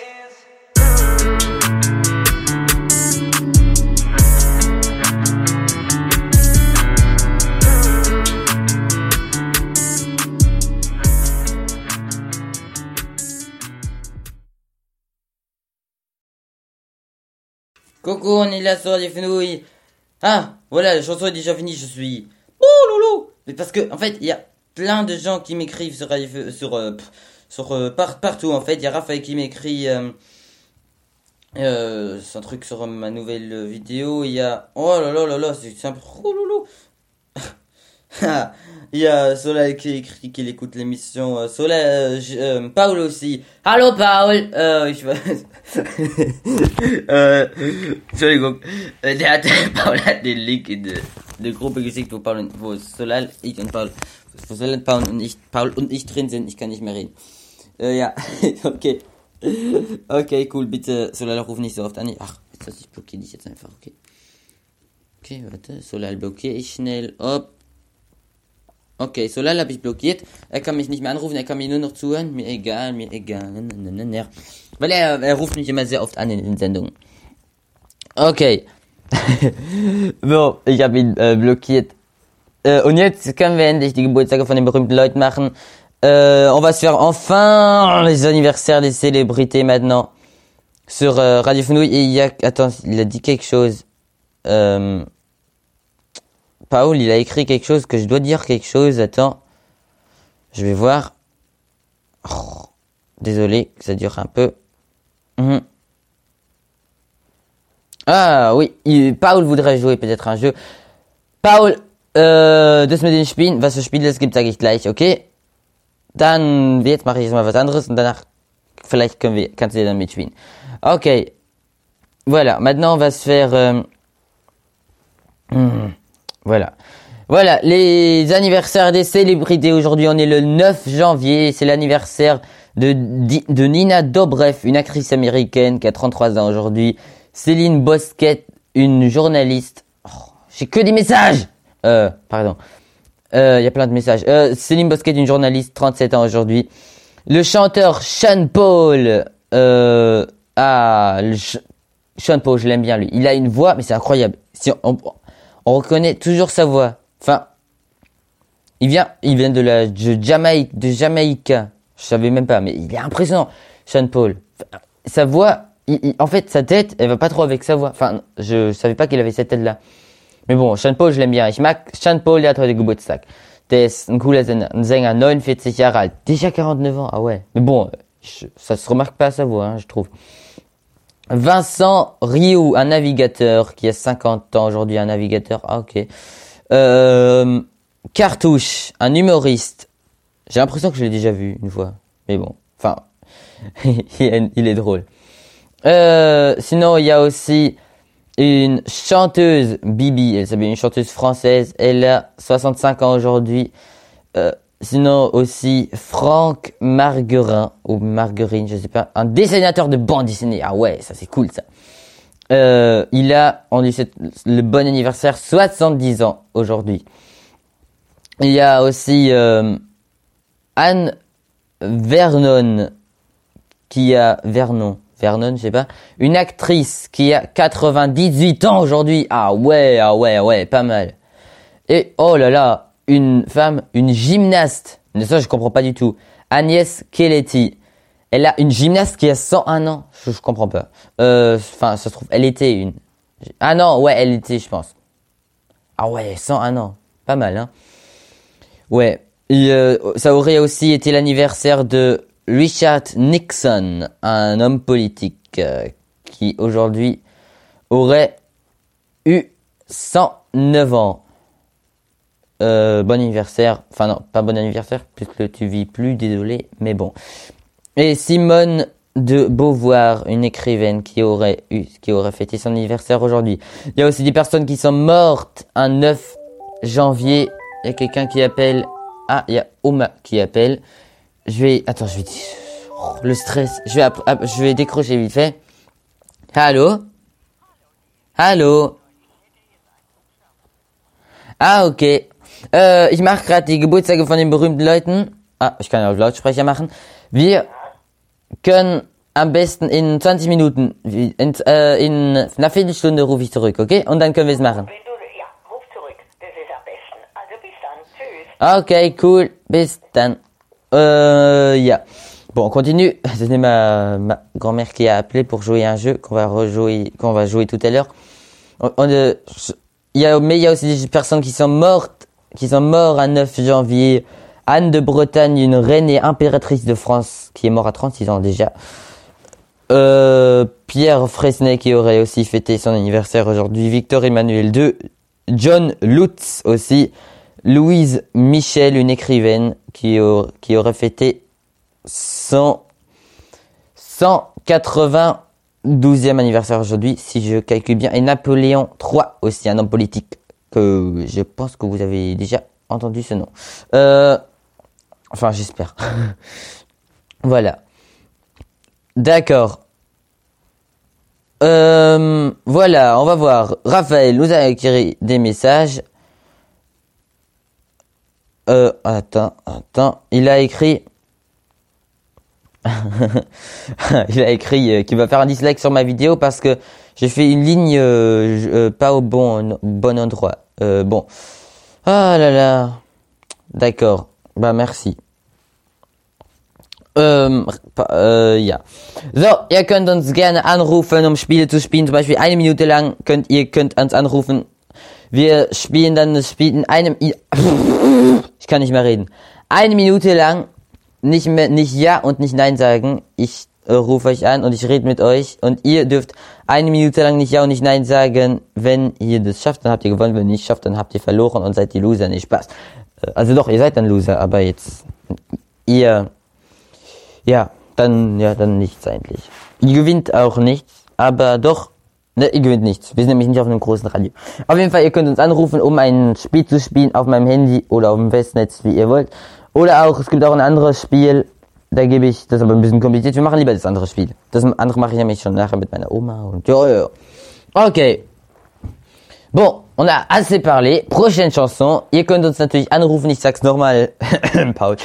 Coucou, on est là sur Radio Fenouil. Ah, voilà, la chanson est déjà finie, je suis... Oh loulou. Mais parce que, en fait, il y a plein de gens qui m'écrivent sur Radio Fenouil, sur... Euh, pff, sur euh, par, partout, en fait. Il y a Raphaël qui m'écrit... Euh, euh, c'est un truc sur ma nouvelle vidéo. Il y a... Oh là là là là, c'est simple. Oh loulou. Il y a Solal qui écrit qu'il écoute l'émission. Euh, Solal, euh, euh, Paul aussi. Hallo Paul. Äh, ich weiß. äh, Entschuldigung. Äh, der hat, Paul hat den Link in der de Gruppe geschickt, wo Paul und, wo Solal, ich und Paul, wo Solal, Paul und ich, Paul und ich drin sind. Ich kann nicht mehr reden. Äh, ja, okay. Okay, cool. Bitte, Solal, ruf nicht so oft an. Ach, jetzt was, ich blockiere dich jetzt einfach, okay. Okay, warte. Solal blockiere ich schnell. Op. Okay, Solal habe ich blockiert. Er kann mich nicht mehr anrufen, er kann mir nur noch zuhören. Mir egal, mir egal. Weil er, er ruft mich immer sehr oft an in den Sendungen. Okay. So, ich habe ihn äh, blockiert. Äh, und jetzt können wir endlich die Geburtstage von den berühmten Leuten machen. Euh, on va se faire enfin les anniversaires des célébrités maintenant. Sur euh, Radio Fenouil. Et il y a... Attends, il a dit quelque chose. Euh... Paul, il a écrit quelque chose, que je dois dire quelque chose. Attends. Je vais voir. Oh, désolé, ça dure un peu. Mmh. Ah oui, il, Paul voudrait jouer peut-être un jeu. Paul, äh, das mit den Spielen, was für Spiele es gibt, sage ich gleich, okay? Dann, jetzt mache ich jetzt mal was anderes und danach, vielleicht können wir, kannst du dann mitspielen. Okay. Voilà, maintenant on va se faire... Euh, mmh. Voilà. Voilà, les anniversaires des célébrités. Aujourd'hui, on est le neuf janvier. C'est l'anniversaire de, de Nina Dobrev, une actrice américaine qui a trente-trois ans aujourd'hui. Céline Bosquet, une journaliste. Oh, j'ai que des messages. Euh, pardon. Il euh, y a plein de messages. Euh, Céline Bosquet, une journaliste, trente-sept ans aujourd'hui. Le chanteur Sean Paul. Euh, ah, le ch- Sean Paul, je l'aime bien lui. Il a une voix, mais c'est incroyable. Si on, on, on reconnaît toujours sa voix. Enfin, il vient, il vient de la de Jamaïque, de Jamaïque. Je savais même pas, mais il est impressionnant, Sean Paul. Enfin, sa voix, il, il, en fait, sa tête, elle va pas trop avec sa voix. Enfin, je savais pas qu'il avait cette tête-là. Mais bon, Sean Paul, je l'aime bien. Ich mag Sean Paul, der hat heute Geburtstag. Der ist ein cooler Sänger, ein Sänger, neunundvierzig Jahre alt. Déjà quarante-neuf ans, ah ouais. Mais bon, je, ça se remarque pas à sa voix, hein, je trouve. Vincent Rioux, un navigateur qui a cinquante ans aujourd'hui, un navigateur, ah ok. Euh, Cartouche, un humoriste. J'ai l'impression que je l'ai déjà vu une fois. Mais bon, enfin, il est drôle. Euh, sinon, il y a aussi une chanteuse, Bibi, elle s'appelle une chanteuse française, elle a soixante-cinq ans aujourd'hui. Euh, sinon aussi Franck Marguerin, ou Marguerine, je sais pas, un dessinateur de bande dessinée. Ah ouais, ça c'est cool ça. Euh, il a, on lui souhaite le bon anniversaire, soixante-dix ans aujourd'hui. Il y a aussi euh, Anne Vernon, qui a Vernon. Vernon, je sais pas, une actrice qui a quatre-vingt-dix-huit ans aujourd'hui. Ah ouais, ah ouais, ouais, pas mal. Et oh là là, une femme, une gymnaste. Mais ça, je comprends pas du tout. Agnès Keleti. Elle a une gymnaste qui a cent un ans. Je, je comprends pas. Euh, enfin, ça se trouve, elle était une. Ah non, ouais, elle était, je pense. Ah ouais, cent un ans. Pas mal, hein. Ouais. Et, euh, ça aurait aussi été l'anniversaire de Richard Nixon, un homme politique euh, qui aujourd'hui aurait eu cent neuf ans. Euh, bon anniversaire, enfin non, pas bon anniversaire, puisque tu vis plus, désolé, mais bon. Et Simone de Beauvoir, une écrivaine qui aurait eu, qui aurait fêté son anniversaire aujourd'hui. Il y a aussi des personnes qui sont mortes un neuf janvier. Il y a quelqu'un qui appelle, ah, il y a Oma qui appelle. Je vais, attends, je vais, oh, le stress, je vais, je vais décrocher vite fait. Allô? Allô? Ah, okay. Äh, ich mache gerade die Geburtstage von den berühmten Leuten. Ah, ich kann ja auf Lautsprecher machen. Wir können am besten in zwanzig Minuten, in, äh, in einer Viertelstunde rufe ich zurück, okay? Und dann können wir es machen. Wenn du, ja, ruf zurück. Das ist am besten. Also bis dann. Tschüss. Okay, cool. Bis dann. Euh, yeah. Bon, on continue. C'était ma, ma grand-mère qui a appelé pour jouer à un jeu qu'on va rejouer, qu'on va jouer tout à l'heure. On, on, euh, il y a, mais il y a aussi des personnes qui sont mortes, qui sont mortes à neuf janvier. Anne de Bretagne, une reine et impératrice de France, qui est morte à trente-six ans déjà. Euh, Pierre Fresnay, qui aurait aussi fêté son anniversaire aujourd'hui. Victor Emmanuel deux. John Lutz aussi. Louise Michel, une écrivaine qui, a, qui aurait fêté son cent quatre-vingt-douzième anniversaire aujourd'hui, si je calcule bien. Et Napoléon trois aussi, un homme politique que je pense que vous avez déjà entendu ce nom. Euh, enfin, j'espère. Voilà. D'accord. Euh, voilà, on va voir. Raphaël nous a écrit des messages. Euh, attends, attends, il a écrit, il a écrit euh, qu'il va faire un dislike sur ma vidéo parce que j'ai fait une ligne euh, euh, pas au bon, bon endroit. Euh, bon, ah là là, d'accord, bah merci. Ähm, äh, ja. So, ihr könnt uns gerne anrufen, um Spiele zu spielen, zum Beispiel eine Minute lang könnt ihr könnt uns anrufen. Wir spielen dann das Spiel in einem, ich kann nicht mehr reden. Eine Minute lang nicht mehr, nicht Ja und nicht Nein sagen. Ich äh, rufe euch an und ich rede mit euch und ihr dürft eine Minute lang nicht Ja und nicht Nein sagen. Wenn ihr das schafft, dann habt ihr gewonnen. Wenn ihr nicht schafft, dann habt ihr verloren und seid die Loser. Nicht Spaß. Äh, also doch, ihr seid dann Loser, aber jetzt, ihr, ja, dann, ja, dann nichts eigentlich. Ihr gewinnt auch nichts, aber doch, ne, ihr gewinnt nichts. Wir sind nämlich nicht auf einem großen Radio. Auf jeden Fall, ihr könnt uns anrufen, um ein Spiel zu spielen auf meinem Handy oder auf dem Festnetz, wie ihr wollt. Oder auch, es gibt auch ein anderes Spiel, da gebe ich, das ist aber ein bisschen kompliziert, wir machen lieber das andere Spiel. Das andere mache ich nämlich schon nachher mit meiner Oma und ja, ja, ja. Okay. Bon. on a assez parlé. Prochaine Chanson. Ihr könnt uns natürlich anrufen, ich sag's nochmal. Paul.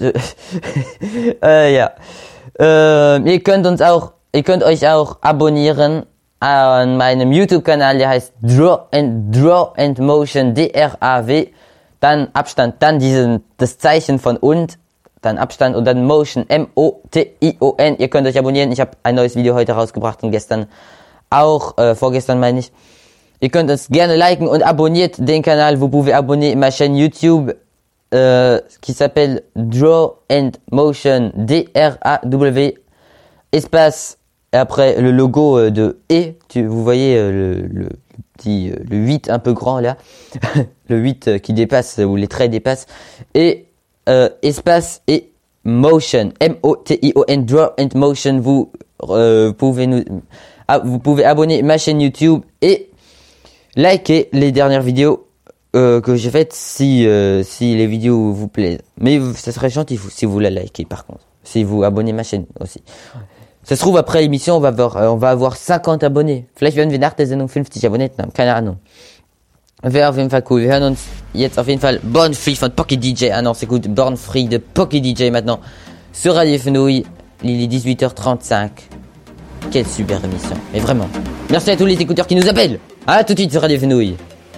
äh, ja. Äh, ihr könnt uns auch, ihr könnt euch auch abonnieren an meinem YouTube-Kanal, der heißt Draw and Draw and Motion, D R A W. Dann Abstand, dann diesen, das Zeichen von und, dann Abstand und dann Motion, M O T I O N. Ihr könnt euch abonnieren. Ich habe ein neues Video heute rausgebracht und gestern auch, äh, vorgestern meine ich. Ihr könnt uns gerne liken und abonniert den Canal. Vous pouvez abonner ma chaîne YouTube euh, qui s'appelle Draw and Motion, D R A W espace et après le logo euh, de E. Tu, vous voyez euh, le, le, le petit euh, le huit un peu grand là, le huit euh, qui dépasse où les traits dépassent et euh, espace et motion, M O T I O N, Draw and Motion. Vous euh, pouvez nous ah, vous pouvez abonner ma chaîne YouTube et likez les dernières vidéos euh, que j'ai faites si euh, si les vidéos vous plaisent. Mais ça serait gentil si vous la likez par contre. Si vous abonnez ma chaîne aussi. Ça se trouve après l'émission on va avoir euh, on va avoir cinquante abonnés. Vielleicht werden wir nach der Sendung fünfzig Abonnenten haben. Keine Ahnung. Wäre auf jeden Fall cool. Wir hören uns jetzt auf jeden Fall Born Free von Pocky D J. Ah non, c'est écoute Born Free de Pocky D J maintenant sur Radio Fenouil. Il est dix-huit heures trente-cinq. Quelle super émission. Mais vraiment. Merci à tous les écouteurs qui nous appellent. À tout de suite sur Radio Fenouil.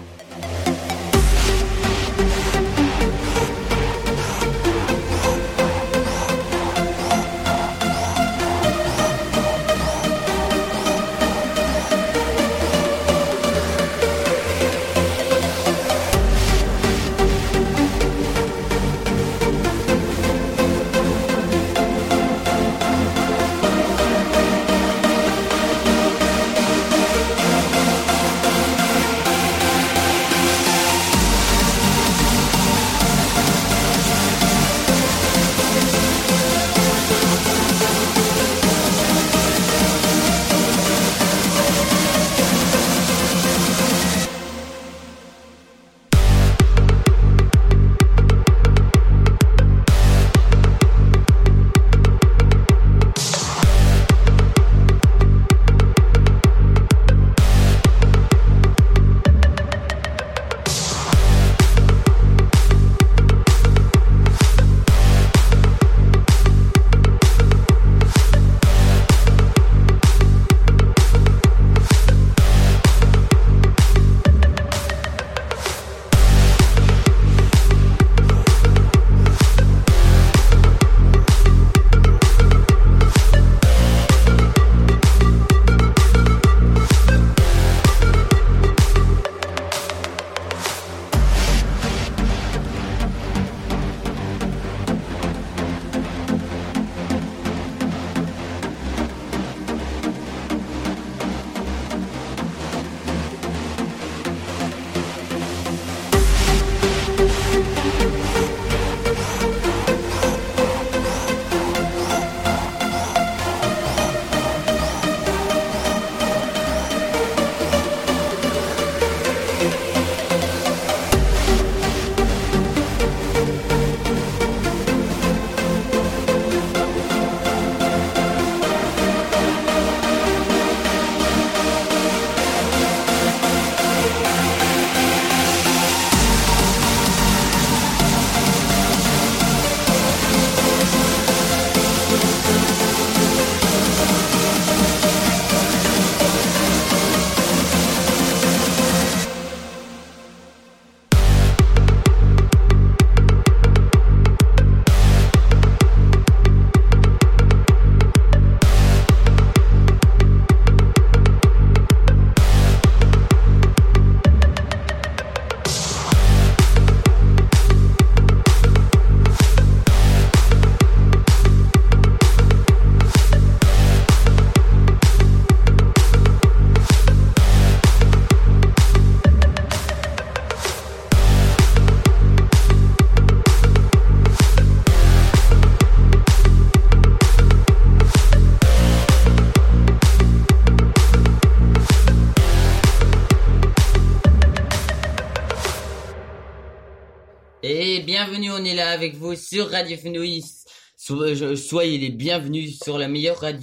Et bienvenue, on est là avec vous sur Radio Fenouil. So, soyez les bienvenus sur la meilleure radio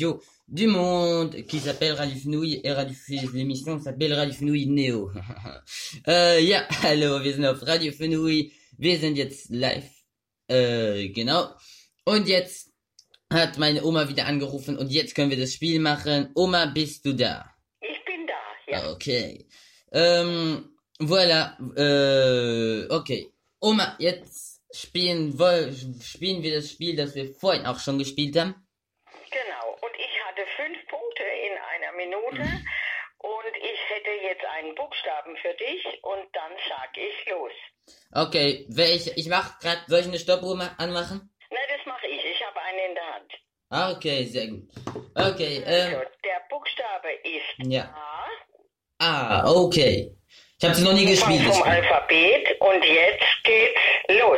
du monde qui s'appelle Radio Fenouil et Radio Fenouil, l'émission s'appelle Radio Fenouil Neo. äh, ja, hallo, wir sind auf Radio Fenouil, wir sind jetzt live, äh, genau. Und jetzt hat meine Oma wieder angerufen und jetzt können wir das Spiel machen. Oma, bist du da? Ich bin da, ja. Okay. Ähm, voilà, äh, okay. Oma, jetzt spielen, woll, spielen wir das Spiel, das wir vorhin auch schon gespielt haben. Genau, und ich hatte fünf Punkte in einer Minute und ich hätte jetzt einen Buchstaben für dich und dann sag ich los. Okay, welch, ich mach grad, soll ich eine Stoppuhr ma- anmachen? Na, das mache ich, ich habe eine in der Hand. Ah, okay, sehr gut. Okay, ähm, Also, der Buchstabe ist ja. A. Ah, okay. Ich habe es noch nie gespielt. das Vom Spiel. Alphabet und jetzt geht's los.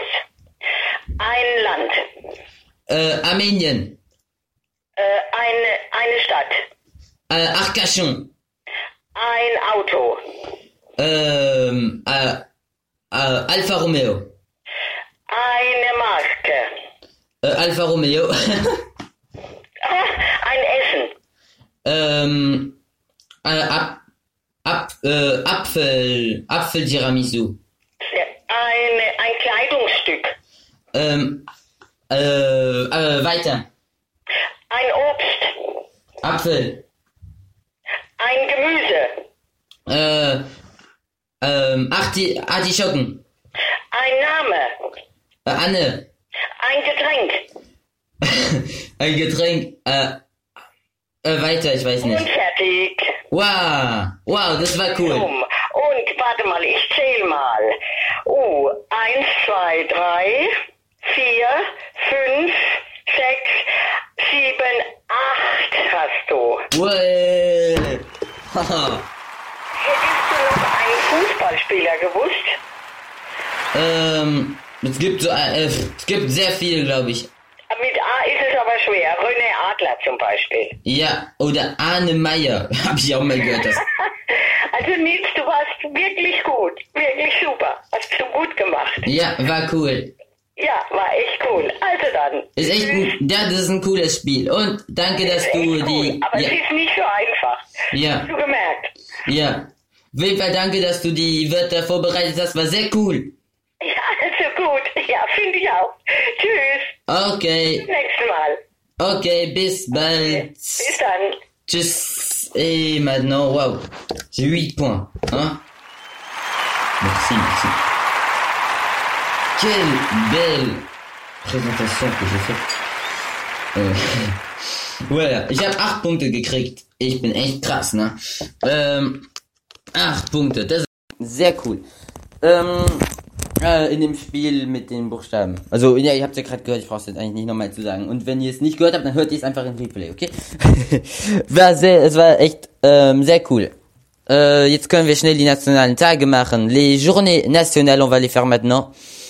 Ein Land, Äh, Armenien. äh, eine, eine Stadt, Äh, Arcachon. ein Auto, Ähm, äh, äh, Alfa Romeo. eine Marke, Äh, Alfa Romeo. ah, ein Essen, ähm, äh, ab, ab, äh, Apfel, Apfel Tiramisu. eine, ein Kleidungsstück, Ähm, äh, äh, weiter. ein Obst, Apfel. ein Gemüse, Äh, ähm, Arti, Artischocken. ein Name, Äh, Anne. ein Getränk Ein Getränk. Äh, äh, weiter, ich weiß und nicht. fertig. Wow, wow, das war cool. Um. Und warte mal, ich zähl mal. Oh, eins, zwei, drei, vier, fünf, sechs, sieben, acht hast du. Well. Haha. Hättest du noch einen Fußballspieler gewusst? ähm, es gibt so, äh, es gibt sehr viele, glaube ich. Mit A ist es aber schwer. René Adler zum Beispiel. Ja, oder Arne Meyer, habe ich auch mal gehört. Das. Also Nils, du warst wirklich gut. Wirklich super. Hast du gut gemacht. Ja, war cool. Ja, war echt cool. Also dann. Ist echt ein, ja, das ist ein cooles Spiel. Und danke, dass Ist du echt die, cool, aber ja, es ist nicht so einfach. ja, Hast du gemerkt? ja. Auf jeden Fall danke, dass du die Wörter vorbereitet hast, war sehr cool. Ja, also gut. Ja, finde ich auch. Tschüss. Okay, Bis nächstes Mal. okay, bis bald. Bis dann. Tchuss. Et maintenant, waouh, j'ai huit points, hein. Merci, merci. Quelle belle présentation que j'ai faite. Äh, voilà, ich habe acht Punkte gekriegt. Ich bin echt krass, ne? Ähm, acht Punkte, das ist sehr cool. Ähm, äh, in dem Spiel mit den Buchstaben. Also, ja, ihr habt ja gerade gehört, ich brauch's jetzt eigentlich nicht nochmal zu sagen. Und wenn ihr es nicht gehört habt, dann hört ihr es einfach im Replay, okay? war sehr, es war echt ähm, sehr cool. Euh, jetzt können wir schnell die nationalen Tage machen. Les journées nationales, on va les faire maintenant.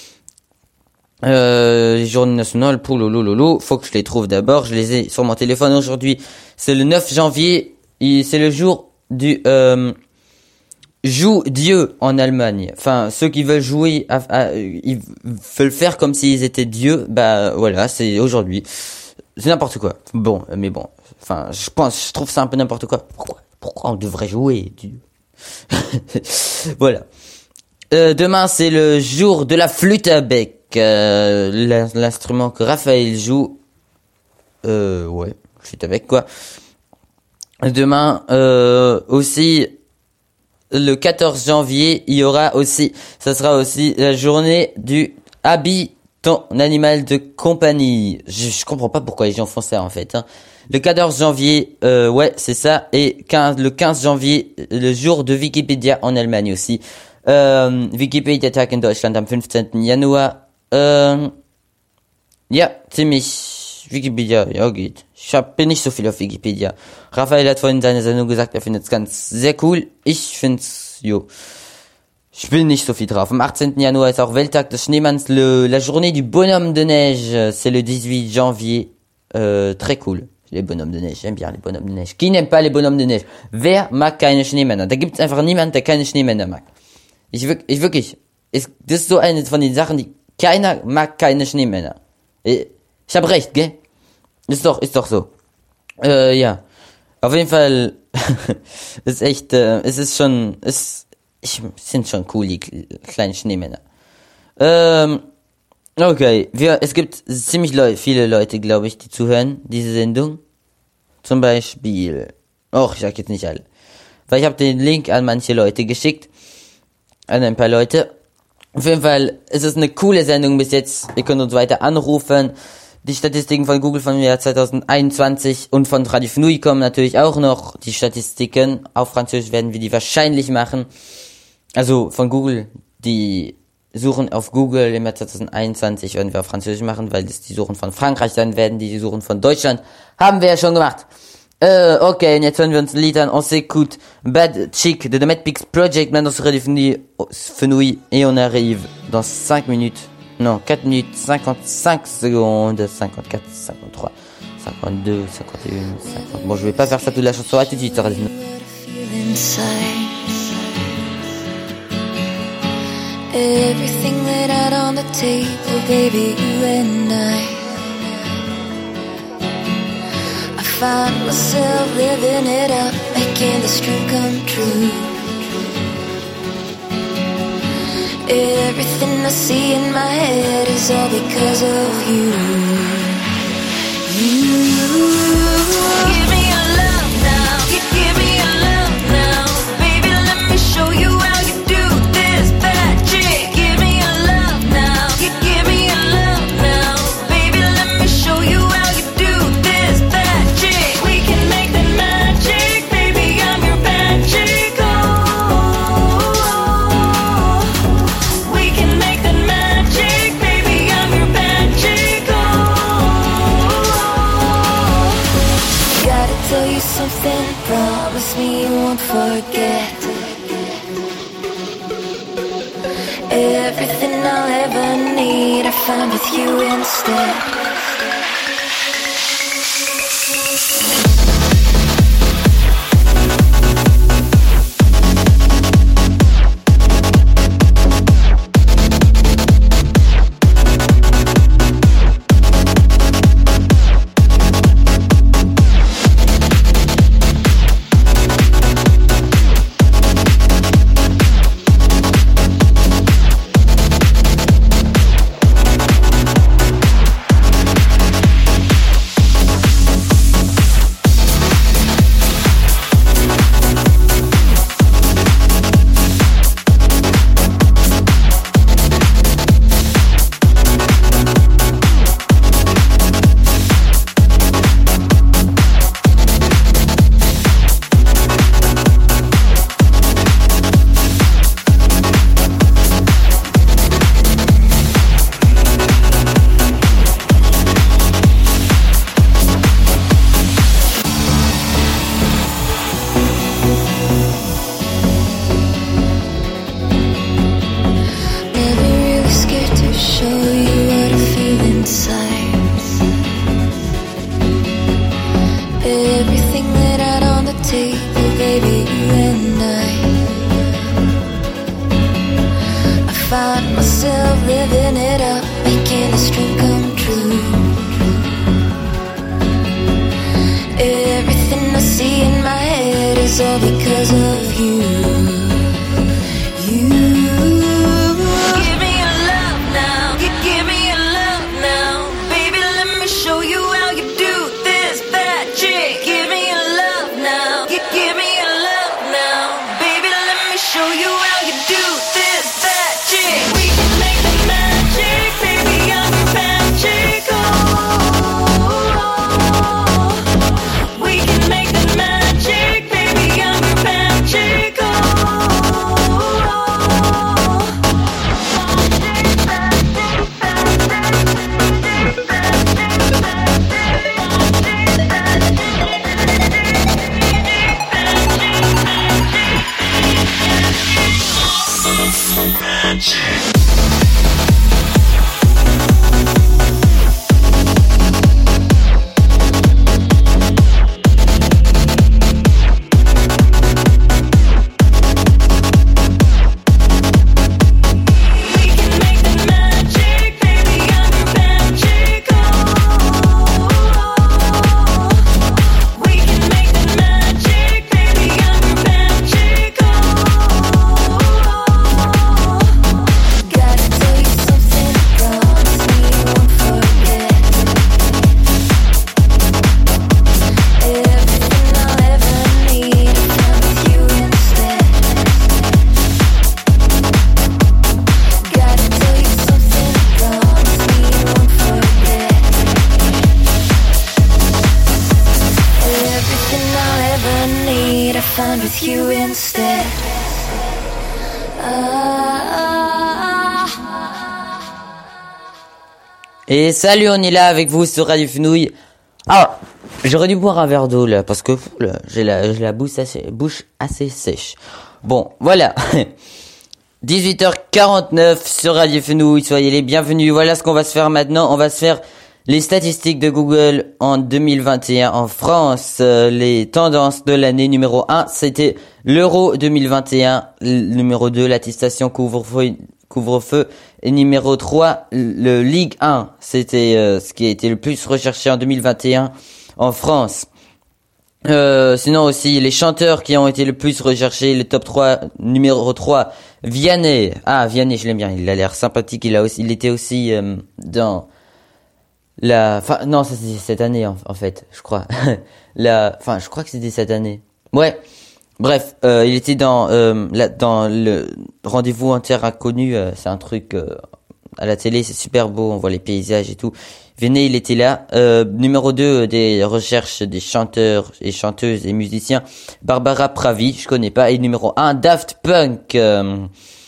Euh, les journées nationales, pouloulou, faut que je les trouve d'abord. Je les ai sur mon téléphone aujourd'hui. C'est le neuf janvier. Et c'est le jour du euh, joue Dieu en Allemagne. Enfin, ceux qui veulent jouer, à, à, ils veulent faire comme s'ils étaient dieux. Bah voilà, c'est aujourd'hui. C'est n'importe quoi. Bon, mais bon. Enfin, je pense, je trouve ça un peu n'importe quoi. Pourquoi? Pourquoi on devrait jouer, Dieu? Voilà. Euh, demain, c'est le jour de la flûte à bec. Euh, l'instrument que Raphaël joue. Euh, ouais, flûte à bec, quoi. Demain, euh, aussi, le quatorze janvier, il y aura aussi, ça sera aussi la journée du habille ton animal de compagnie. Je, je comprends pas pourquoi les gens font ça, en fait, hein. Le quatorze janvier, euh, ouais, c'est ça. Et quinze, le quinze janvier, le jour de Wikipédia en Allemagne aussi. Ähm, Wikipedia-Tag in Deutschland am fünfzehnten Januar. Ähm, ja, ziemlich Wikipedia, ja geht. Ich hab, bin nicht so viel auf Wikipedia. Raphael hat vorhin in seiner Sendung gesagt, er findet es ganz sehr cool. Ich find's, jo. Ich bin nicht so viel drauf. Am achtzehnten Januar ist auch Welttag des Schneemanns, le, la journée du bonhomme de neige. C'est le dix-huit janvier. Euh, très cool. Les bonhommes de neige, j'aime bien les bonhommes de neige. Qui n'aime pas les bonhommes de neige? Wer mag keine Schneemänner? Da gibt's einfach niemand, der keine Schneemänner mag. Ich wirklich, ich wirklich, ist, das ist so eine von den Sachen, die keiner mag keine Schneemänner. Ich hab recht, gell? Ist doch, ist doch so. Äh, ja. Auf jeden Fall, ist echt, äh, es ist schon, es, ich, sind schon cool, die kleinen Schneemänner. Ähm, okay, wir, es gibt ziemlich Leu- viele Leute, glaube ich, die zuhören, diese Sendung. Zum Beispiel, och, ich sag jetzt nicht alle. Weil ich habe den Link an manche Leute geschickt, an ein paar Leute. Auf jeden Fall ist es eine coole Sendung bis jetzt. Ihr könnt uns weiter anrufen. Die Statistiken von Google von Jahr zwanzig einundzwanzig und von Radio Fenouil kommen natürlich auch noch. Die Statistiken auf Französisch werden wir die wahrscheinlich machen. Also von Google, die Suchen auf Google im Jahr zwanzig einundzwanzig werden wir auf Französisch machen, weil das die Suchen von Frankreich dann werden, die, die Suchen von Deutschland. Haben wir ja schon gemacht. Euh, ok, und jetzt hören wir uns ein Lied an. On s'écoute Bad Chick de The Mad Pigs Project, maintenant sur Radio Fenouil, et on arrive dans cinq minutes, non, quatre minutes, cinquante-cinq secondes, cinquante-quatre, cinquante-trois, cinquante-deux, cinquante et un, cinquante. Bon, je vais pas faire ça toute la chanson, à tout de suite sur Radio Fenouil. Everything laid out on the table, baby, you and I. I find myself living it up, making this dream come true. Everything I see in my head is all because of you. You give me your love now, give, give me your love now, baby. Let me show you how you do this bad chick. Give me your love now, give, give me your love now, baby. Let me show you how you do this bad chick. We can make the magic, baby. I'm your bad chick. Oh, we can make the magic, baby. I'm your bad chick. Oh, gotta tell you something. Promise me you won't forget. Everything I'll ever need, I found with you instead. I'm your find with you instead. Ah. Et salut, on est là avec vous sur Radio Fenouil. Ah, j'aurais dû boire un verre d'eau là, parce que là, j'ai la, j'ai la bouche assez, bouche assez sèche. Bon, voilà. dix-huit heures quarante-neuf sur Radio Fenouil, soyez les bienvenus. Voilà ce qu'on va se faire maintenant. On va se faire les statistiques de Google en deux mille vingt et un en France. Euh, les tendances de l'année numéro un, c'était l'Euro deux mille vingt et un. Le numéro deux, l'attestation couvre-feu. Couvre-feu. Et numéro trois, le Ligue un. C'était euh, ce qui a été le plus recherché en deux mille vingt et un en France. Euh, sinon aussi, les chanteurs qui ont été le plus recherchés, le top trois, numéro trois, Vianney. Ah, Vianney, je l'aime bien, il a l'air sympathique, il a aussi, il était aussi euh, dans la... Enfin, non, ça c'était cette année en, en fait, je crois. la... Enfin, je crois que c'était cette année. Ouais. Bref, euh, il était dans euh, la, dans le Rendez-vous en terre inconnue, euh, c'est un truc euh, à la télé, c'est super beau, on voit les paysages et tout. Vianney, il était là. Euh, numéro deux des recherches des chanteurs et chanteuses et musiciens, Barbara Pravi, je connais pas. Et numéro un, Daft Punk. Euh,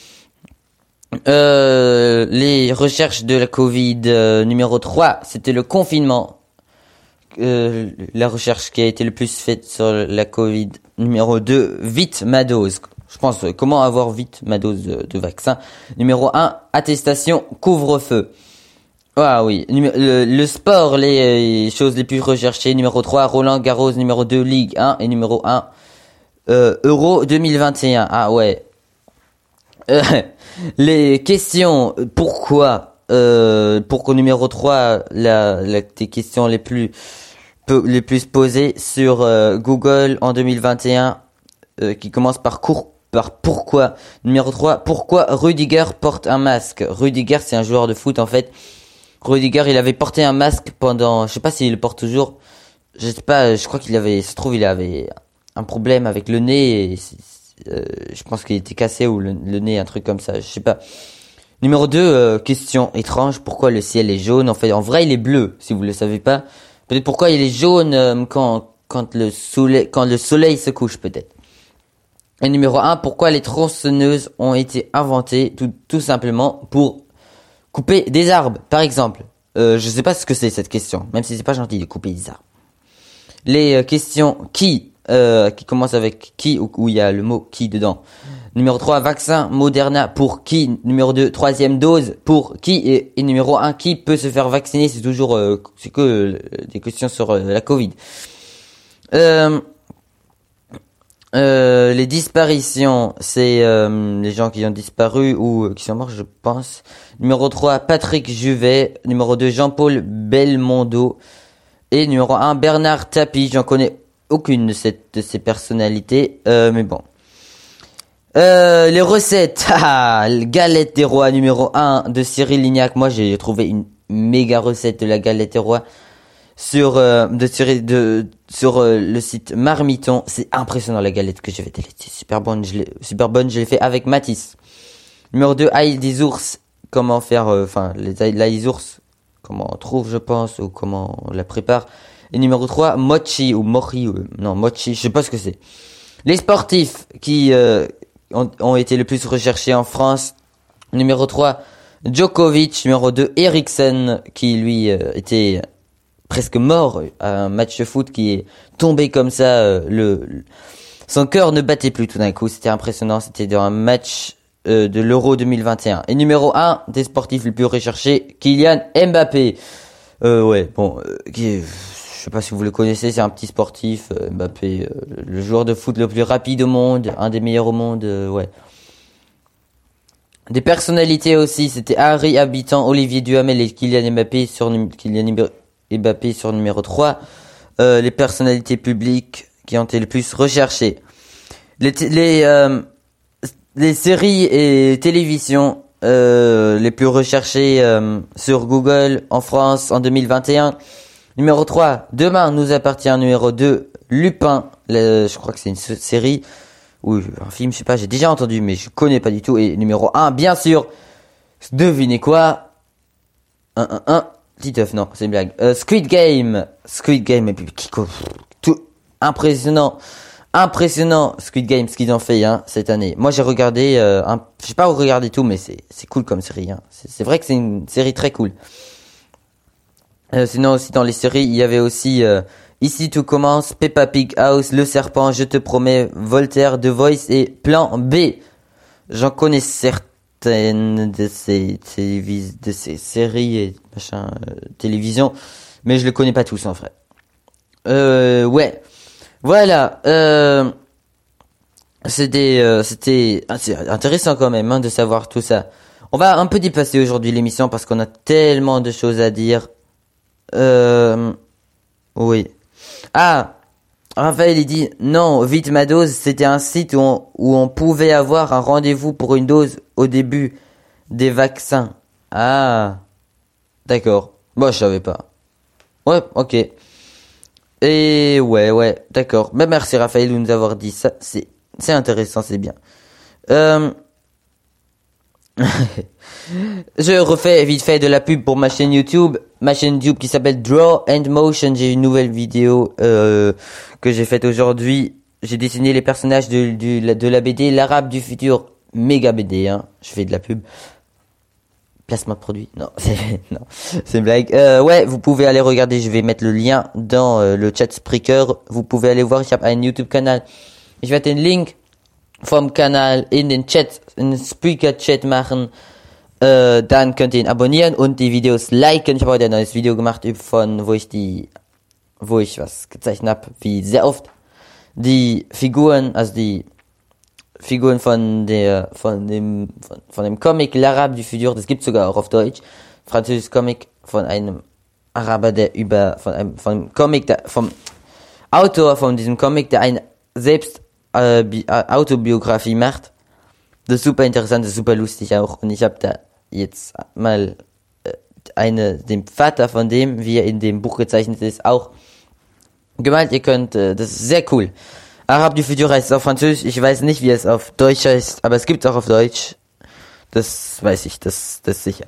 euh, les recherches de la Covid, euh, numéro trois, c'était le confinement. Euh, la recherche qui a été le plus faite sur la Covid. Numéro deux, vite ma dose. Je pense, euh, comment avoir vite ma dose de, de vaccin. Numéro un, attestation couvre-feu. Ah oui, le, le sport, les, les choses les plus recherchées. Numéro trois, Roland Garros. Numéro deux, Ligue un. Et numéro un, euh, Euro deux mille vingt et un. Ah ouais. Euh, les questions, pourquoi euh, Pourquoi numéro trois, la, la, les questions les plus les plus posées sur euh, Google en deux mille vingt et un, euh, qui commencent par cours, par pourquoi. Numéro trois, pourquoi Rudiger porte un masque. Rudiger, c'est un joueur de foot en fait. Rudiger, il avait porté un masque pendant, je sais pas s'il le porte toujours. Je sais pas, je crois qu'il avait, ça se trouve, il avait un problème avec le nez. Et euh, je pense qu'il était cassé ou le, le nez, un truc comme ça. Je sais pas. Numéro deux, euh, question étrange. Pourquoi le ciel est jaune? En fait, en vrai, il est bleu. Si vous le savez pas. Peut-être pourquoi il est jaune euh, quand quand le soleil quand le soleil se couche peut-être. Et numéro un, pourquoi les tronçonneuses ont été inventées? Tout tout simplement pour couper des arbres, par exemple. Euh, je sais pas ce que c'est cette question, même si c'est pas gentil de couper des arbres. Les euh, questions qui, euh, qui commencent avec qui, ou où il y a le mot qui dedans. Numéro trois, vaccin Moderna pour qui? Numéro deux, troisième dose pour qui? Et, et numéro un, qui peut se faire vacciner? C'est toujours, euh, c'est que euh, des questions sur euh, la Covid. Euh, Euh, les disparitions, c'est euh, les gens qui ont disparu ou euh, qui sont morts, je pense. Numéro trois, Patrick Juvet. Numéro deux, Jean-Paul Belmondo. Et numéro un, Bernard Tapie. J'en connais aucune de, cette, de ces personnalités, euh, mais bon. Euh, les recettes. Ah, galette des rois numéro un de Cyril Lignac. Moi, j'ai trouvé une méga recette de la galette des rois sur euh, de tirer de sur euh, le site Marmiton. C'est impressionnant la galette que j'ai faite, elle était super bonne, je l'ai super bonne, je l'ai fait avec Mathis. Numéro deux, ail des ours, comment faire enfin euh, les l'ail des ours, comment on trouve je pense ou comment on la prépare. Et numéro trois, mochi ou mori ou, non, mochi, je sais pas ce que c'est. Les sportifs qui euh, ont, ont été le plus recherchés en France. Numéro trois, Djokovic. Numéro deux, Eriksen qui lui euh, était presque mort à un match de foot, qui est tombé comme ça, euh, le, le son cœur ne battait plus tout d'un coup, c'était impressionnant, c'était dans un match euh, de l'Euro deux mille vingt et un. Et numéro un des sportifs les plus recherchés, Kylian Mbappé. Euh, ouais, bon, euh, qui est, je sais pas si vous le connaissez, c'est un petit sportif, euh, Mbappé, euh, le joueur de foot le plus rapide au monde, un des meilleurs au monde, euh, ouais. Des personnalités aussi, c'était Harry Habitant, Olivier Duhamel et Kylian Mbappé sur Kylian Mbappé sur numéro trois. Euh, les personnalités publiques qui ont été le plus recherchées. Les, t- les, euh, les séries et télévisions euh, les plus recherchées euh, sur Google en France en deux mille vingt et un. Numéro trois, Demain nous appartient. Numéro deux, Lupin. Le, je crois que c'est une série ou un film, je sais pas, j'ai déjà entendu mais je connais pas du tout. Et numéro un, bien sûr, devinez quoi? un un un Titeuf, non, c'est une blague. Euh, Squid Game. Squid Game, et puis, tout, impressionnant. impressionnant Squid Game ce qu'ils ont fait hein, cette année. Moi j'ai regardé, euh, un, je sais pas regarder tout, mais c'est c'est cool comme série. Hein. C'est, c'est vrai que c'est une série très cool. Euh, sinon aussi dans les séries, il y avait aussi euh, Ici tout commence, Peppa Pig House, Le Serpent, Je te promets, Voltaire, The Voice et Plan B. J'en connais certaines de ces télévis- de ces séries et machin euh, télévision, mais je les connais pas tous en vrai. Euh, ouais, voilà. Euh, c'était euh, c'était ah, c'est intéressant quand même hein, de savoir tout ça. On va un peu dépasser aujourd'hui l'émission parce qu'on a tellement de choses à dire. Euh, oui. Ah, Raphaël il dit non, vite ma dose, c'était un site où on, où on pouvait avoir un rendez-vous pour une dose au début des vaccins. Ah, d'accord. Moi je savais pas. Ouais, ok. Et ouais, ouais, d'accord. Ben merci Raphaël de nous avoir dit ça. C'est c'est intéressant, c'est bien. Euh... Je refais vite fait de la pub pour ma chaîne YouTube, ma chaîne YouTube qui s'appelle Draw and Motion. J'ai une nouvelle vidéo euh, que j'ai faite aujourd'hui. J'ai dessiné les personnages de, de, de la B D L'Arabe du futur, méga B D. Hein. Je fais de la pub. Placement de produit. Non, c'est non, c'est une blague. Euh, ouais, vous pouvez aller regarder. Je vais mettre le lien dans euh, le chat Spreaker. Vous pouvez aller voir. Ich habe einen YouTube-Kanal. Ich werde den Link vom Kanal in den Chat, in den Spreaker-Chat machen. Äh, dann könnt ihr ihn abonnieren und die Videos liken. Ich habe heute ein neues Video gemacht von, wo ich die, wo ich was gezeichnet habe, wie sehr oft die Figuren, also die Figuren von der, von dem, von, von dem Comic L'Arabe du Futur, das gibt's sogar auch auf Deutsch, französisches Comic von einem Araber, der über, von einem, von einem Comic, der, vom Autor von diesem Comic, der eine selbst äh, Bi- äh, Autobiografie macht. Das ist super interessant, das ist super lustig auch. Und ich habe da jetzt mal äh, eine, dem Vater von dem, wie er in dem Buch gezeichnet ist, auch gemalt. Ihr könnt, äh, das ist sehr cool. Arabe du Futur heißt es auf Französisch. Ich weiß nicht, wie es auf Deutsch heißt, aber es gibt es auch auf Deutsch. Das weiß ich, das, das ist sicher.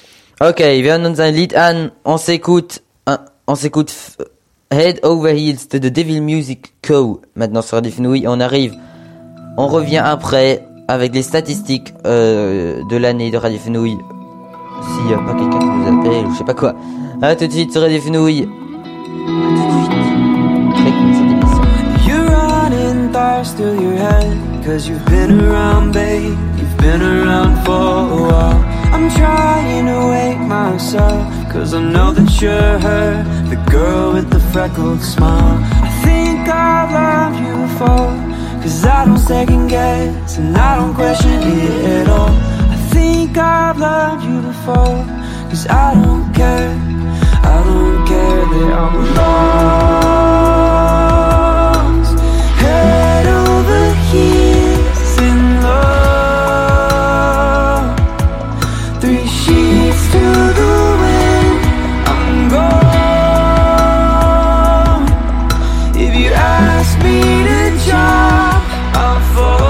Okay, wir hören uns ein Lied an. On s'écoute, euh, on s'écoute Head Over Heels de The Devil Music Co. Maintenant sur Radio Fenouil, on arrive. On revient après avec les statistiques euh, de l'année de Radio Fenouil. S'il n'y a pas quelqu'un qui nous appelle ou je sais pas quoi. A tout de suite sur Radio Fenouil. A tout de suite. Très cool cette émission. You're running thoughts through your head, cause you've been around, babe, you've been around for a while. I'm trying to wake myself, cause I know that you're her, the girl with the freckled smile. I think I've loved you before, cause I don't second guess, and I don't question it at all. I think I've loved you before, cause I don't care, I don't care that I'm lost, head over heels in love, three sheets to the wind, I'm gone. If you ask me to jump, I'll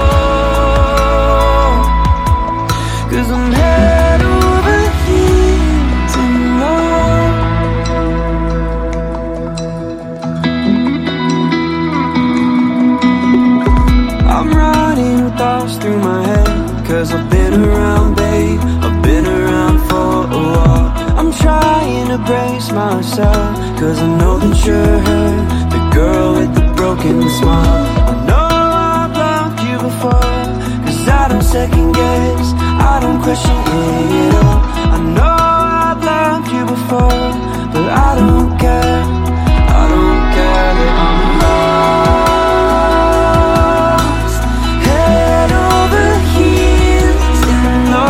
fall, cause I'm head over heels in love. I'm running with thoughts through my head, cause I've been around, babe, I've been around for a while. I'm trying to brace myself, cause I know that you're her, the girl with the broken smile. I know I've loved you before, cause I don't second guess, I don't question it at all. I know I've loved you before, but I don't care, I don't care that I'm lost, head over heels in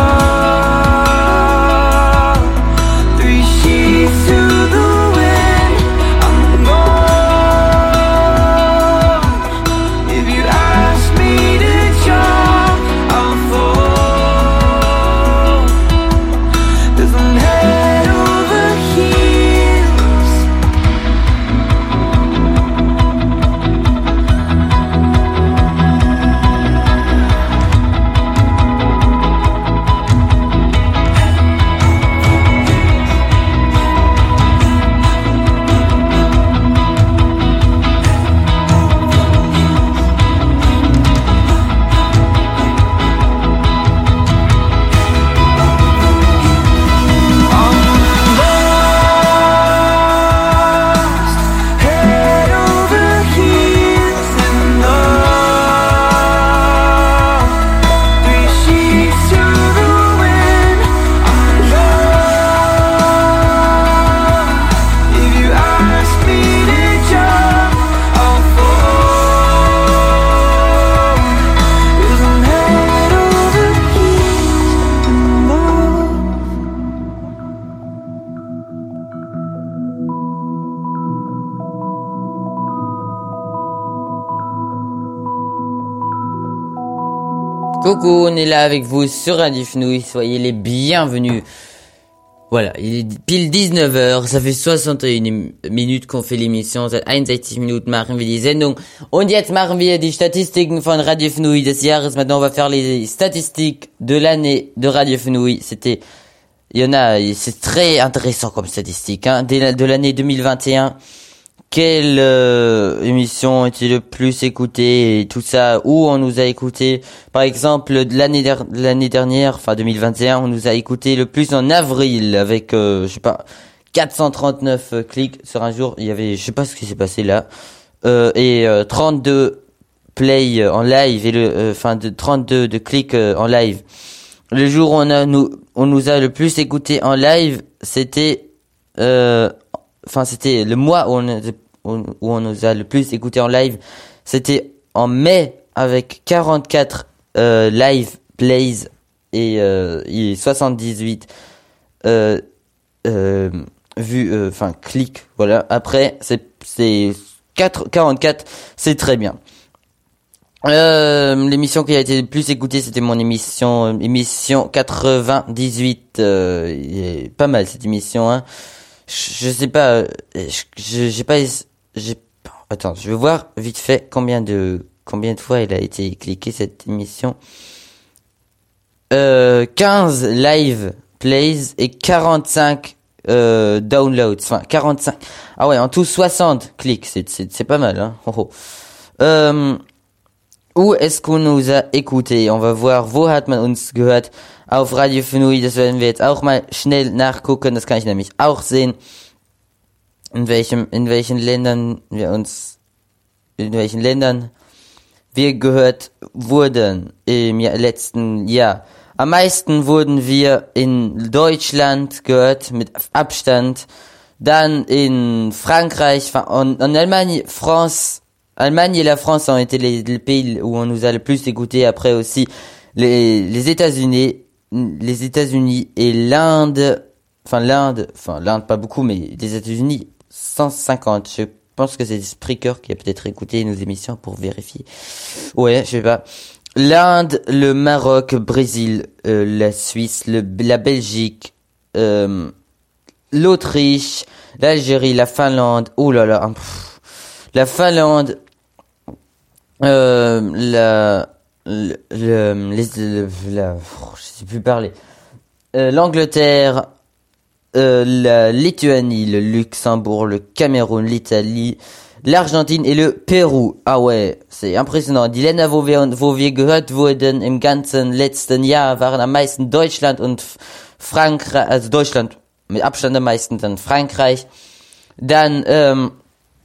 love, three sheets to the wind, I'm gone. If you ask me to jump, I'll fall, Coucou, on est là avec vous sur Radio Fenouil, soyez les bienvenus. Voilà, il est pile dix-neuf heures, ça fait soixante et une Minuten qu'on fait l'émission, seit einundsechzig Minuten machen wir die Sendung. Und jetzt machen wir die Statistiken von Radio Fenouil des Jahres. Maintenant, on va faire les statistiques de l'année de Radio Fenouil. C'était, il y en a, c'est très intéressant comme statistique, hein, de, de l'année deux mille vingt et un. Quelle euh, émission était le plus écoutée et tout ça, où on nous a écouté. Par exemple, de l'année, der- de l'année dernière, enfin deux mille vingt et un, on nous a écouté le plus en avril avec, euh, je sais pas, quatre cent trente-neuf euh, clics sur un jour. Il y avait, je sais pas ce qui s'est passé là, euh, et euh, trente-deux play euh, en live et le, enfin euh, de trente-deux de clics euh, en live. Le jour où on a nous, on nous a le plus écouté en live, c'était, euh, enfin c'était le mois où on a, où on nous a le plus écouté en live, c'était en mai avec quarante-quatre euh, live plays et, euh, et soixante-dix-huit euh, euh, vues, enfin euh, clics. Voilà. Après, c'est c'est quatre, quarante-quatre, c'est très bien. Euh, l'émission qui a été le plus écoutée, c'était mon émission, euh, émission quatre-vingt-dix-huit. Euh, pas mal cette émission, hein. Je, je sais pas, je, j'ai pas, j'ai, attends, je vais voir vite fait combien de, combien de fois elle a été cliquée cette émission. Euh, quinze live plays et quarante-cinq euh, downloads, enfin quarante-cinq. Ah ouais, en tout soixante clics, c'est c'est c'est pas mal, hein. Oh, oh. Euh, Où est-ce qu'on nous a écouté? On va voir, wo hat man uns gehört? Auf Radio Fenouil, das werden wir jetzt auch mal schnell nachgucken, das kann ich nämlich auch sehen, in welchem, in welchen Ländern wir uns, in welchen Ländern wir gehört wurden im letzten Jahr. Am meisten wurden wir in Deutschland gehört, mit Abstand, dann in Frankreich, en, en Allemagne, France, Allemagne et la France ont été les, les pays où on nous a le plus écouté. Après aussi les, les États-Unis, les États-Unis et l'Inde. Enfin l'Inde, enfin l'Inde pas beaucoup, mais les États-Unis cent cinquante. Je pense que c'est Spreaker qui a peut-être écouté nos émissions pour vérifier. Ouais, je sais pas. L'Inde, le Maroc, Brésil, euh, la Suisse, le, la Belgique, euh, l'Autriche, l'Algérie, la Finlande. Oh là là. Pff. La Finlande, euh, la, le, le, les, le, la, je sais plus parler, euh, l'Angleterre, euh, la Lituanie, le Luxembourg, le Cameroun, l'Italie, l'Argentine et le Pérou. Ah ouais, c'est impressionnant. Die Länder, wo wir, wo wir gehört wurden im ganzen letzten Jahr, waren am meisten Deutschland und Frankreich, also Deutschland mit Abstand am meisten, dann Frankreich, dann, ähm,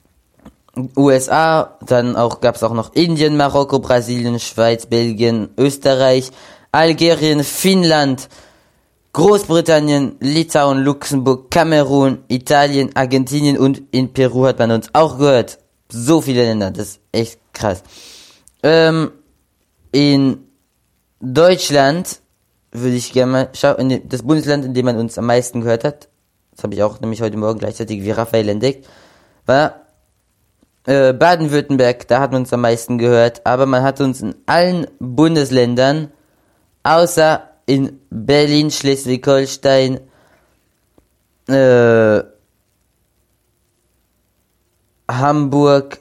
U S A, dann auch gab's auch noch Indien, Marokko, Brasilien, Schweiz, Belgien, Österreich, Algerien, Finnland, Großbritannien, Litauen, Luxemburg, Kamerun, Italien, Argentinien und in Peru hat man uns auch gehört. So viele Länder, das ist echt krass. Ähm, in Deutschland würde ich gerne mal schauen, das Bundesland, in dem man uns am meisten gehört hat, das habe ich auch nämlich heute Morgen gleichzeitig wie Raphael entdeckt, war Äh, Baden-Württemberg, da hat man uns am meisten gehört, aber man hat uns in allen Bundesländern, außer in Berlin, Schleswig-Holstein, äh, Hamburg,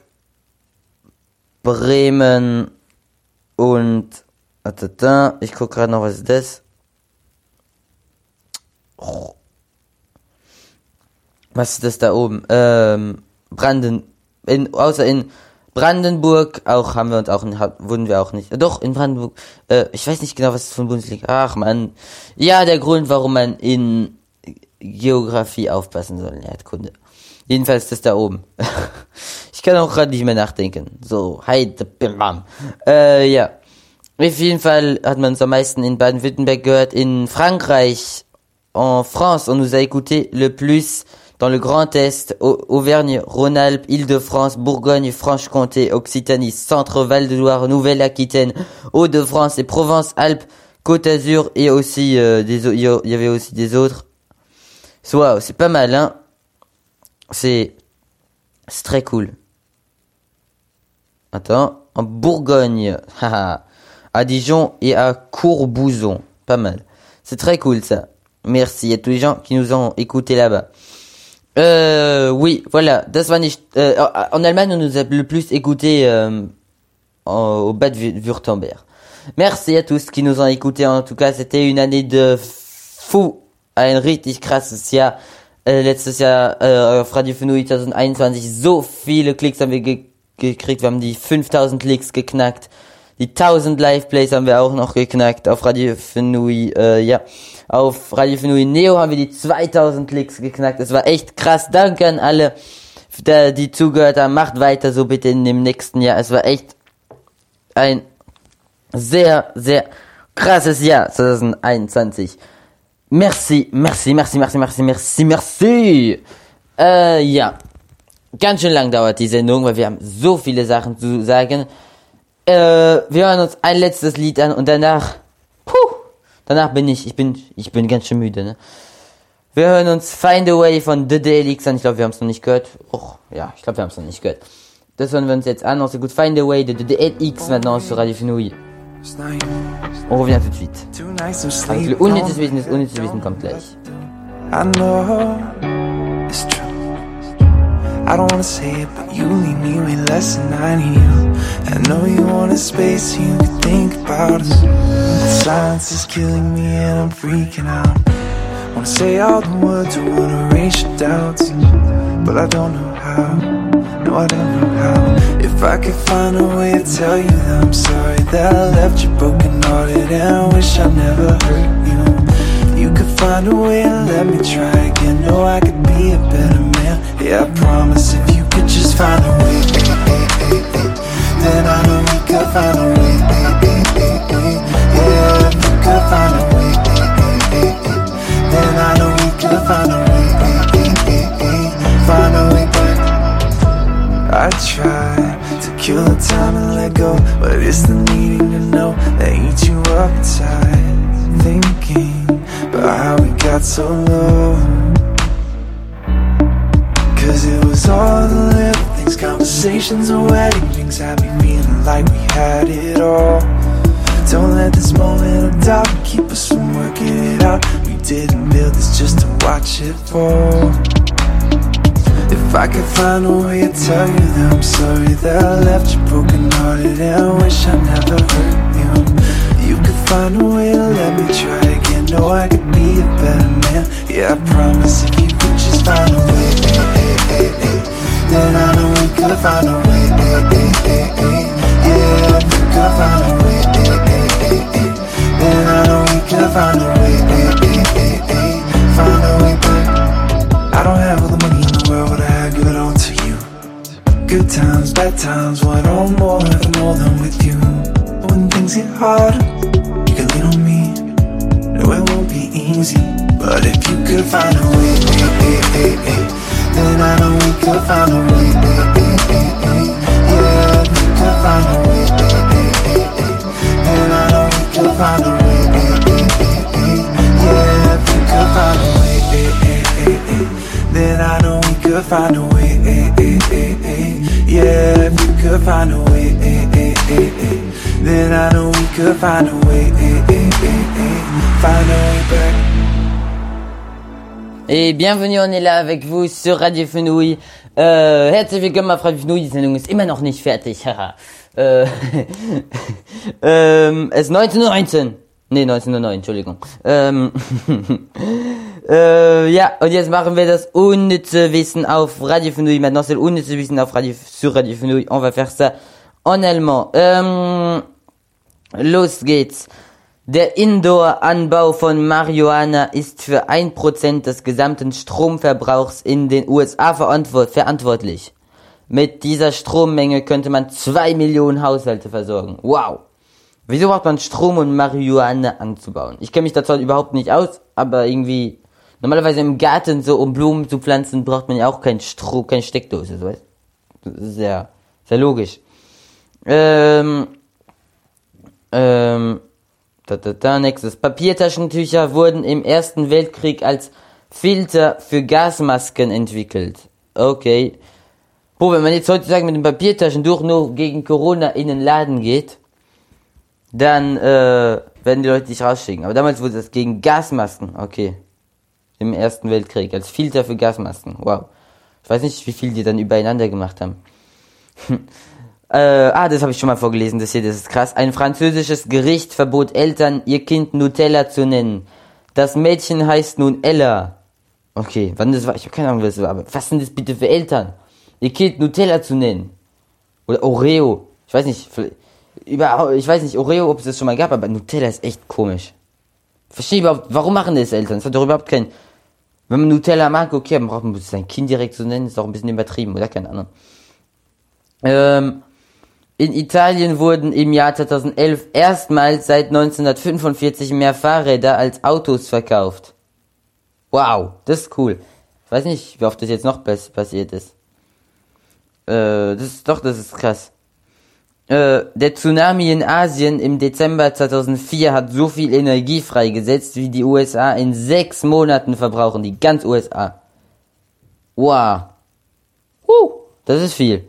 Bremen und, ich guck gerade noch, was ist das? Was ist das da oben? Ähm, Branden, In, außer in Brandenburg auch haben wir uns auch wurden wir auch nicht. Doch in Brandenburg. Äh, ich weiß nicht genau, was das für ein Bundesland. Ach man, ja, der Grund, warum man in Geografie aufpassen soll, Erdkunde. Jedenfalls das da oben. Ich kann auch gerade nicht mehr nachdenken. So, heide, bim bam. Äh, ja. Auf jeden Fall hat man uns am meisten in Baden-Württemberg gehört, in Frankreich, en France, on nous a écouté le plus. Dans le Grand Est, Auvergne, Rhône-Alpes, Île-de-France, Bourgogne, Franche-Comté, Occitanie, Centre, Val-de-Loire, Nouvelle-Aquitaine, Hauts-de-France et Provence-Alpes, Côte d'Azur et aussi euh, des il y avait aussi des autres. Waouh, c'est pas mal, hein. C'est c'est très cool. Attends, en Bourgogne, haha. à Dijon et à Courbouzon. Pas mal. C'est très cool ça. Merci à tous les gens qui nous ont écoutés là-bas. Euh, oui, voilà. Das war nicht, euh, en Allemagne, on nous a le plus écouté euh, au Bad Württemberg. Merci à tous qui nous ont écoutés. En tout cas, c'était une année de fou. Ein richtig krasses Jahr. Äh, letztes Jahr äh, auf Radio Fenui zwanzig einundzwanzig. So viele Klicks haben wir ge- gekriegt. Wir haben die fünftausend Klicks geknackt. Die tausend Live-Plays haben wir auch noch geknackt auf Radio Fenui. Äh, ja, auf Radio Fenui Neo haben wir die zweitausend Klicks geknackt. Das war echt krass. Danke an alle, die zugehört haben. Macht weiter so bitte in dem nächsten Jahr. Es war echt ein sehr, sehr krasses Jahr zwanzig einundzwanzig. Merci, merci, merci, merci, merci, merci, merci. Äh, ja. Ganz schön lang dauert die Sendung, weil wir haben so viele Sachen zu sagen. Äh, wir hören uns ein letztes Lied an und danach, puh, danach bin ich, ich bin, ich bin ganz schön müde, ne? Wir hören uns Find a Way von The D L X an. Ich glaube, wir haben es noch nicht gehört. Och, ja, ich glaube, wir haben es noch nicht gehört. Das hören wir uns jetzt an. On s'écoute Find a Way de The D L X maintenant sur Radio Fenouil. On revient tout de suite. Avec le unnützes Wissen, das unnützes Wissen kommt gleich. I know it's true. I don't wanna say it, but you need me way less than I need you. I know you want a space so you can think about us. The silence is killing me and I'm freaking out. Wanna say all the words, I wanna erase your doubts, but I don't know how. No, I don't know how. If I could find a way to tell you that I'm sorry that I left you broken hearted and I wish I never hurt you. You could find a way to let me try again. No, I could be a better man. Yeah, I promise if you could just find a way, then I know we could find a way. Yeah, if you could find a way, then I know we could find a way. Find a way back. I try to kill the time and let go, but it's the needing to know that eats you up inside. Thinking about how we got so low, cause it was all the little things, conversations and wedding rings had me feeling like we had it all. Don't let this moment of doubt keep us from working it out. We didn't build this just to watch it fall. If I could find a way to tell you that I'm sorry that I left you broken hearted and I wish I never hurt you. You could find a way to let me try again. No, I could be a better man. Yeah, I promise if you could just find a way, then I know we could find a way. Yeah, if you could find a way, then I know we could find a way. Find a way back. I don't have all the money in the world, but I give it all to you. Good times, bad times, want all more, ever more than with you. But when things get hard, you can lean on me. No, it won't be easy, but if you could find a way, then I know we could find a way. Yeah, if you could find a way, then I know we could find a way. Yeah, if you could find a way, then I know we could find a way. Yeah, if you could find a way, then I know we could find a way. Find a way back. Et bienvenue, on est là avec vous sur Radio Fenouil. Äh, herzlich willkommen auf Radio Fenouil. Die Sendung ist immer noch nicht fertig. äh, ähm, es ist neunzehn Uhr neunzehn. Nee, neunzehn Uhr neun, Entschuldigung. Ähm, äh, ja, und jetzt machen wir das unnütze Wissen auf Radio Fenouil. Maintenant, c'est unnütze Wissen auf Radio, sur Radio Fenouil. On va faire ça en allemand. Ähm, los geht's. Der Indoor-Anbau von Marihuana ist für ein Prozent des gesamten Stromverbrauchs in den U S A verantwort- verantwortlich. Mit dieser Strommenge könnte man zwei Millionen Haushalte versorgen. Wow! Wieso braucht man Strom, um Marihuana anzubauen? Ich kenne mich dazu überhaupt nicht aus, aber irgendwie, normalerweise im Garten, so um Blumen zu pflanzen, braucht man ja auch kein Strom, keine Steckdose, so weißt du? Das ist ja, sehr logisch. Ähm, ähm, da, da, da, nächstes. Papiertaschentücher wurden im Ersten Weltkrieg als Filter für Gasmasken entwickelt. Okay. Boah, wenn man jetzt heutzutage mit dem Papiertaschentuch nur gegen Corona in den Laden geht, dann äh, werden die Leute dich rausschicken. Aber damals wurde das gegen Gasmasken, okay. Im Ersten Weltkrieg, als Filter für Gasmasken, wow. Ich weiß nicht, wie viel die dann übereinander gemacht haben. äh, ah, das habe ich schon mal vorgelesen, das hier, das ist krass. Ein französisches Gericht verbot Eltern, ihr Kind Nutella zu nennen. Das Mädchen heißt nun Ella. Okay, wann das war, ich habe keine Ahnung, was das war, aber was sind das bitte für Eltern? Ihr Kind Nutella zu nennen. Oder Oreo. Ich weiß nicht, über, ich weiß nicht, Oreo, ob es das schon mal gab, aber Nutella ist echt komisch. Verstehe überhaupt, warum machen das Eltern? Es hat doch überhaupt kein, wenn man Nutella mag, okay, dann braucht man sein Kind direkt zu nennen, ist doch ein bisschen übertrieben, oder? Keine Ahnung. Ähm, in Italien wurden im Jahr zweitausendelf erstmals seit neunzehnhundertfünfundvierzig mehr Fahrräder als Autos verkauft. Wow, das ist cool. Ich weiß nicht, wie oft das jetzt noch passiert ist. Äh, das ist doch, das ist krass. Äh, der Tsunami in Asien im Dezember zweitausendvier hat so viel Energie freigesetzt, wie die U S A in sechs Monaten verbrauchen. Die ganz U S A. Wow. Uh, das ist viel.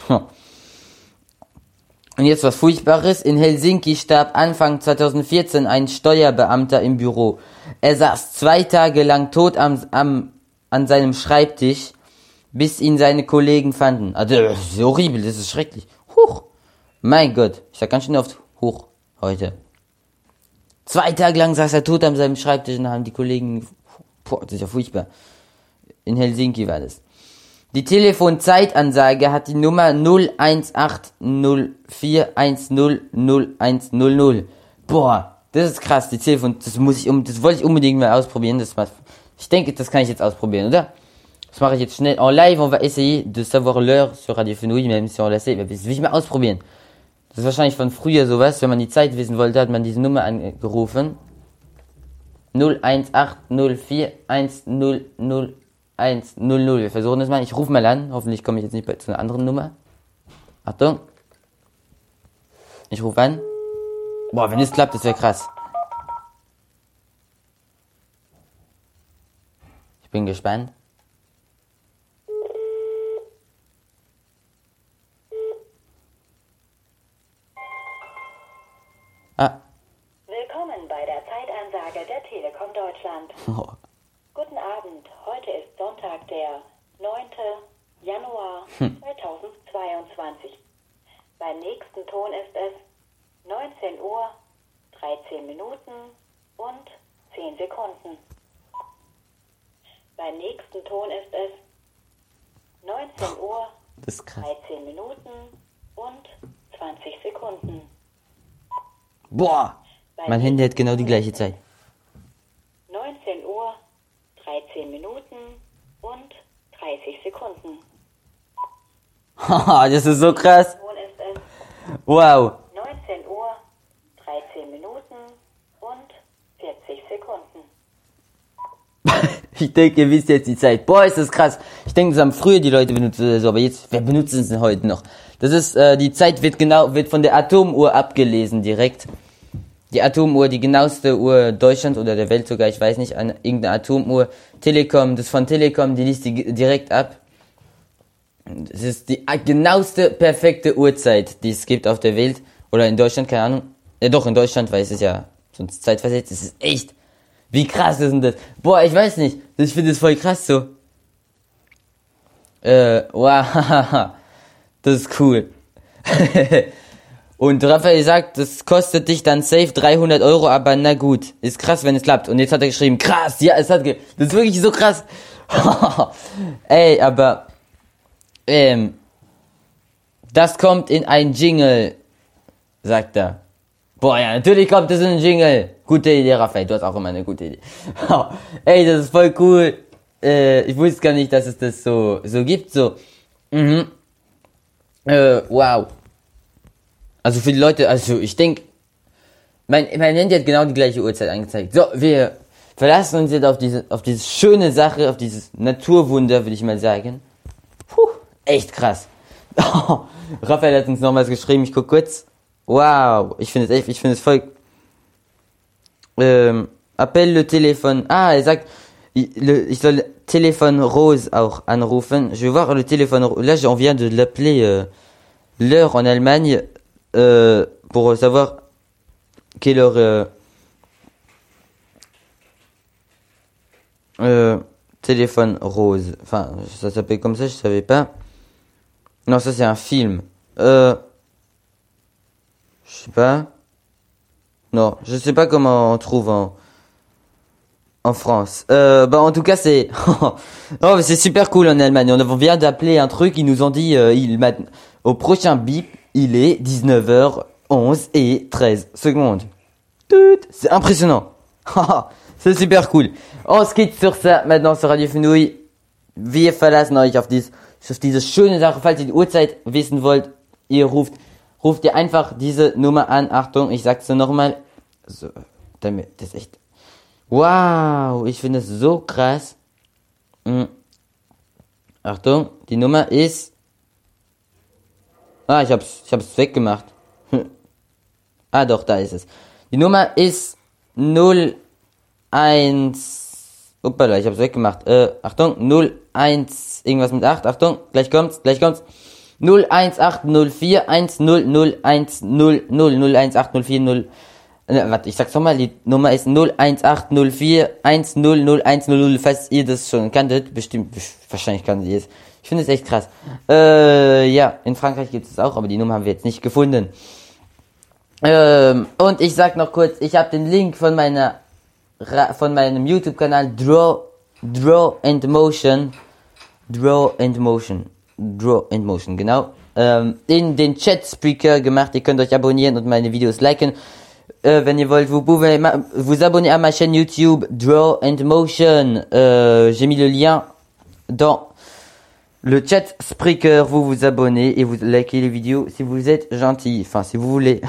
Und jetzt was Furchtbares. In Helsinki starb Anfang zweitausendvierzehn ein Steuerbeamter im Büro. Er saß zwei Tage lang tot am, am, an seinem Schreibtisch, bis ihn seine Kollegen fanden. Also, das ist horribel, das ist schrecklich. Huch. Mein Gott, ich sag ganz schön oft hoch heute. Zwei Tage lang saß er tot an seinem Schreibtisch und haben die Kollegen... Boah, das ist ja furchtbar. In Helsinki war das. Die Telefonzeitansage hat die Nummer null eins acht null vier eins null null eins null null. Boah, das ist krass. Die Telefon, das muss ich um, das wollte ich unbedingt mal ausprobieren. Das war, ich denke, das kann ich jetzt ausprobieren, oder? Das mache ich jetzt schnell. En live, on va essayer de savoir l'heure sur Radio Fenouil, même si on l'a sait. Das will ich mal ausprobieren. Das ist wahrscheinlich von früher sowas. Wenn man die Zeit wissen wollte, hat man diese Nummer angerufen. null eins acht null vier eins null null eins null null. Wir versuchen das mal. Ich rufe mal an. Hoffentlich komme ich jetzt nicht bei, zu einer anderen Nummer. Achtung. Ich rufe an. Boah, wenn es klappt, das wäre krass. Ich bin gespannt. Ah. Willkommen bei der Zeitansage der Telekom Deutschland. Oh. Guten Abend, heute ist Sonntag, der neunten Januar zweitausendzweiundzwanzig. Beim nächsten Ton ist es neunzehn Uhr, dreizehn Minuten und zehn Sekunden. Beim nächsten Ton ist es neunzehn Uhr, dreizehn Minuten und zwanzig Sekunden. Boah, mein Handy hat genau die gleiche Zeit. neunzehn Uhr, dreizehn Minuten und dreißig Sekunden. Haha, das ist so krass. Wow. neunzehn Uhr, dreizehn Minuten und vierzig Sekunden. Ich denke, ihr wisst jetzt die Zeit. Boah, ist das krass. Ich denke, das haben früher die Leute benutzt oder so, aber jetzt, wer benutzt es denn heute noch? Das ist, äh, die Zeit wird genau, wird von der Atomuhr abgelesen direkt. Die Atomuhr, die genaueste Uhr Deutschlands oder der Welt sogar, ich weiß nicht, an irgendeine Atomuhr. Telekom, das von Telekom, die liest die direkt ab. Das ist die genaueste, perfekte Uhrzeit, die es gibt auf der Welt. Oder in Deutschland, keine Ahnung. Ja doch, in Deutschland, weil es ist ja sonst zeitversetzt. Das ist echt. Wie krass ist denn das? Boah, ich weiß nicht. Ich finde das voll krass so. Äh, wow. Das ist cool. Und Raphael sagt, das kostet dich dann safe dreihundert Euro, aber na gut. Ist krass, wenn es klappt. Und jetzt hat er geschrieben, krass, ja, es hat ge... Das ist wirklich so krass. Ey, aber... Ähm... Das kommt in ein Jingle, sagt er. Boah, ja, natürlich kommt es in ein Jingle. Gute Idee, Raphael, du hast auch immer eine gute Idee. Ey, das ist voll cool. Äh, ich wusste gar nicht, dass es das so, so gibt, so. Mhm. Äh, wow. Also für die Leute, also ich denke, mein, mein Handy hat genau die gleiche Uhrzeit angezeigt. So, wir verlassen uns jetzt auf diese, auf diese schöne Sache, auf dieses Naturwunder, würde ich mal sagen. Puh, echt krass. Oh, Raphael hat uns nochmals geschrieben, ich guck kurz. Wow, ich finde es echt, ich finde es voll... Ähm, appelle le téléphone. Ah, er sagt, ich soll Téléphone Rose auch anrufen. Je vais voir le téléphone Rose. Là, on vient de l'appeler euh, l'heure en Allemagne euh, pour savoir qui est leur euh, euh, téléphone rose. Enfin, ça s'appelle comme ça, je savais pas. Non, ça c'est un film. Euh, je sais pas. Non, je sais pas comment on trouve en en France. Euh, bah en tout cas c'est oh mais c'est super cool en Allemagne. On vient d'appeler un truc, ils nous ont dit euh, il au prochain bip, il est dix-neuf heures onze et treize secondes. Tout, c'est impressionnant. C'est super cool. On se quitte sur ça maintenant sur Radio Fenouil. Wir verlassen euch auf dies auf diese schöne Sache. Falls ihr die Uhrzeit wissen wollt, ihr ruft ruft ihr einfach diese Nummer an. Achtung, ich sag's nochmal. So, damit das ist echt. Wow, ich finde es so krass. Hm. Achtung, die Nummer ist. Ah, ich hab's, ich hab's weggemacht. Ah, doch, da ist es. Die Nummer ist null eins. Uppala, ich hab's weggemacht. Äh, Achtung, null eins, irgendwas mit acht. Achtung, gleich kommt's, gleich kommt's. null eins acht null vier eins null null eins null null null eins acht null vier null. Äh, warte, ich sag's nochmal, die Nummer ist null eins acht null vier eins null null eins null null, falls ihr das schon kanntet. Bestimmt, wahrscheinlich kanntet ihr es. Ich finde es echt krass. Äh, ja, in Frankreich gibt es auch, aber die Nummer haben wir jetzt nicht gefunden. Ähm, und ich sag noch kurz, ich habe den Link von meiner von meinem YouTube-Kanal Draw Draw and Motion Draw and Motion Draw and Motion, genau, ähm, in den Chat-Speaker gemacht. Ihr könnt euch abonnieren und meine Videos liken, euh, wenn ihr wollt. Vous pouvez ma- vous abonner à ma chaîne YouTube Draw and Motion. Euh, j'ai mis le lien dans le chat Spreaker. Vous vous abonnez et vous likez les vidéos si vous êtes gentil. Enfin, si vous voulez.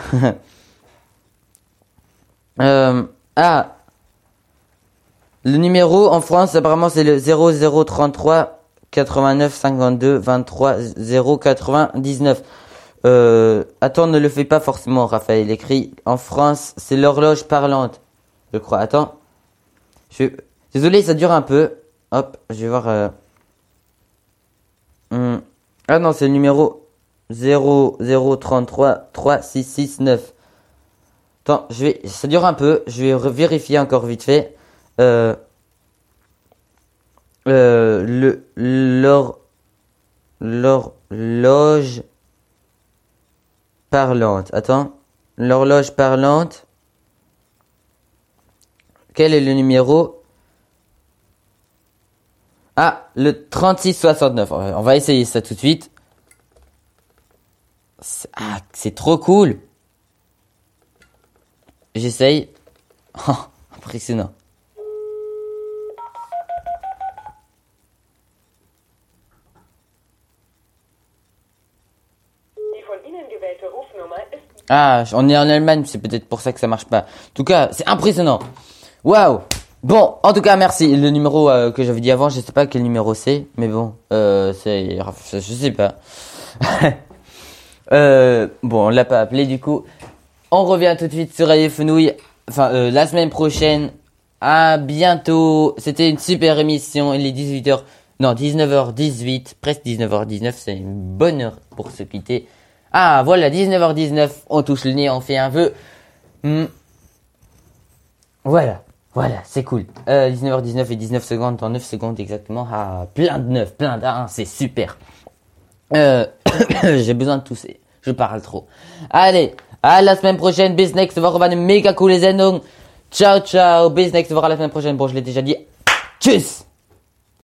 euh, ah, le numéro en France, apparemment, c'est le zéro zéro trente-trois quatre-vingt-neuf cinquante-deux vingt-trois zéro quatre-vingt-dix-neuf. Euh, attends, ne le fais pas forcément, Raphaël. Il écrit en France, c'est l'horloge parlante, je crois. Attends. Je... Désolé, ça dure un peu. Hop, je vais voir. Euh... Hum. Ah non, c'est le numéro zéro zéro trente-trois trois six six neuf. Attends, je vais. Ça dure un peu. Je vais vérifier encore vite fait. Euh. Euh, le l'hor l'horloge parlante. Attends, l'horloge parlante. Quel est le numéro? Ah, le trente-six soixante-neuf. On va essayer ça tout de suite. C'est, ah, c'est trop cool. J'essaye. Oh, impressionnant. Ah, on est en Allemagne, c'est peut-être pour ça que ça marche pas. En tout cas, c'est impressionnant. Waouh. Bon, en tout cas, merci. Le numéro euh, que j'avais dit avant, je sais pas quel numéro c'est, mais bon, euh, c'est, je sais pas. euh, bon, on l'a pas appelé du coup. On revient tout de suite sur Radio Fenouil. Enfin, euh, la semaine prochaine. À bientôt. C'était une super émission. Il est dix-huit heures. Non, dix-neuf heures dix-huit. Presque dix-neuf heures dix-neuf. C'est une bonne heure pour se quitter. Ah, voilà, dix-neuf heures dix-neuf. On touche le nez, on fait un vœu. Hmm. Voilà. Voilà, c'est cool. Euh, dix-neuf heures dix-neuf et dix-neuf secondes dans neuf secondes exactement. Ah, plein de neuf, plein d'un, c'est super. Euh, j'ai besoin de tousser. Je parle trop. Allez, à la semaine prochaine. Bis nächste Woche war eine mega coole Sendung. Ciao, ciao. Bis nächste Woche, à la semaine prochaine. Bon, je l'ai déjà dit. Tschüss.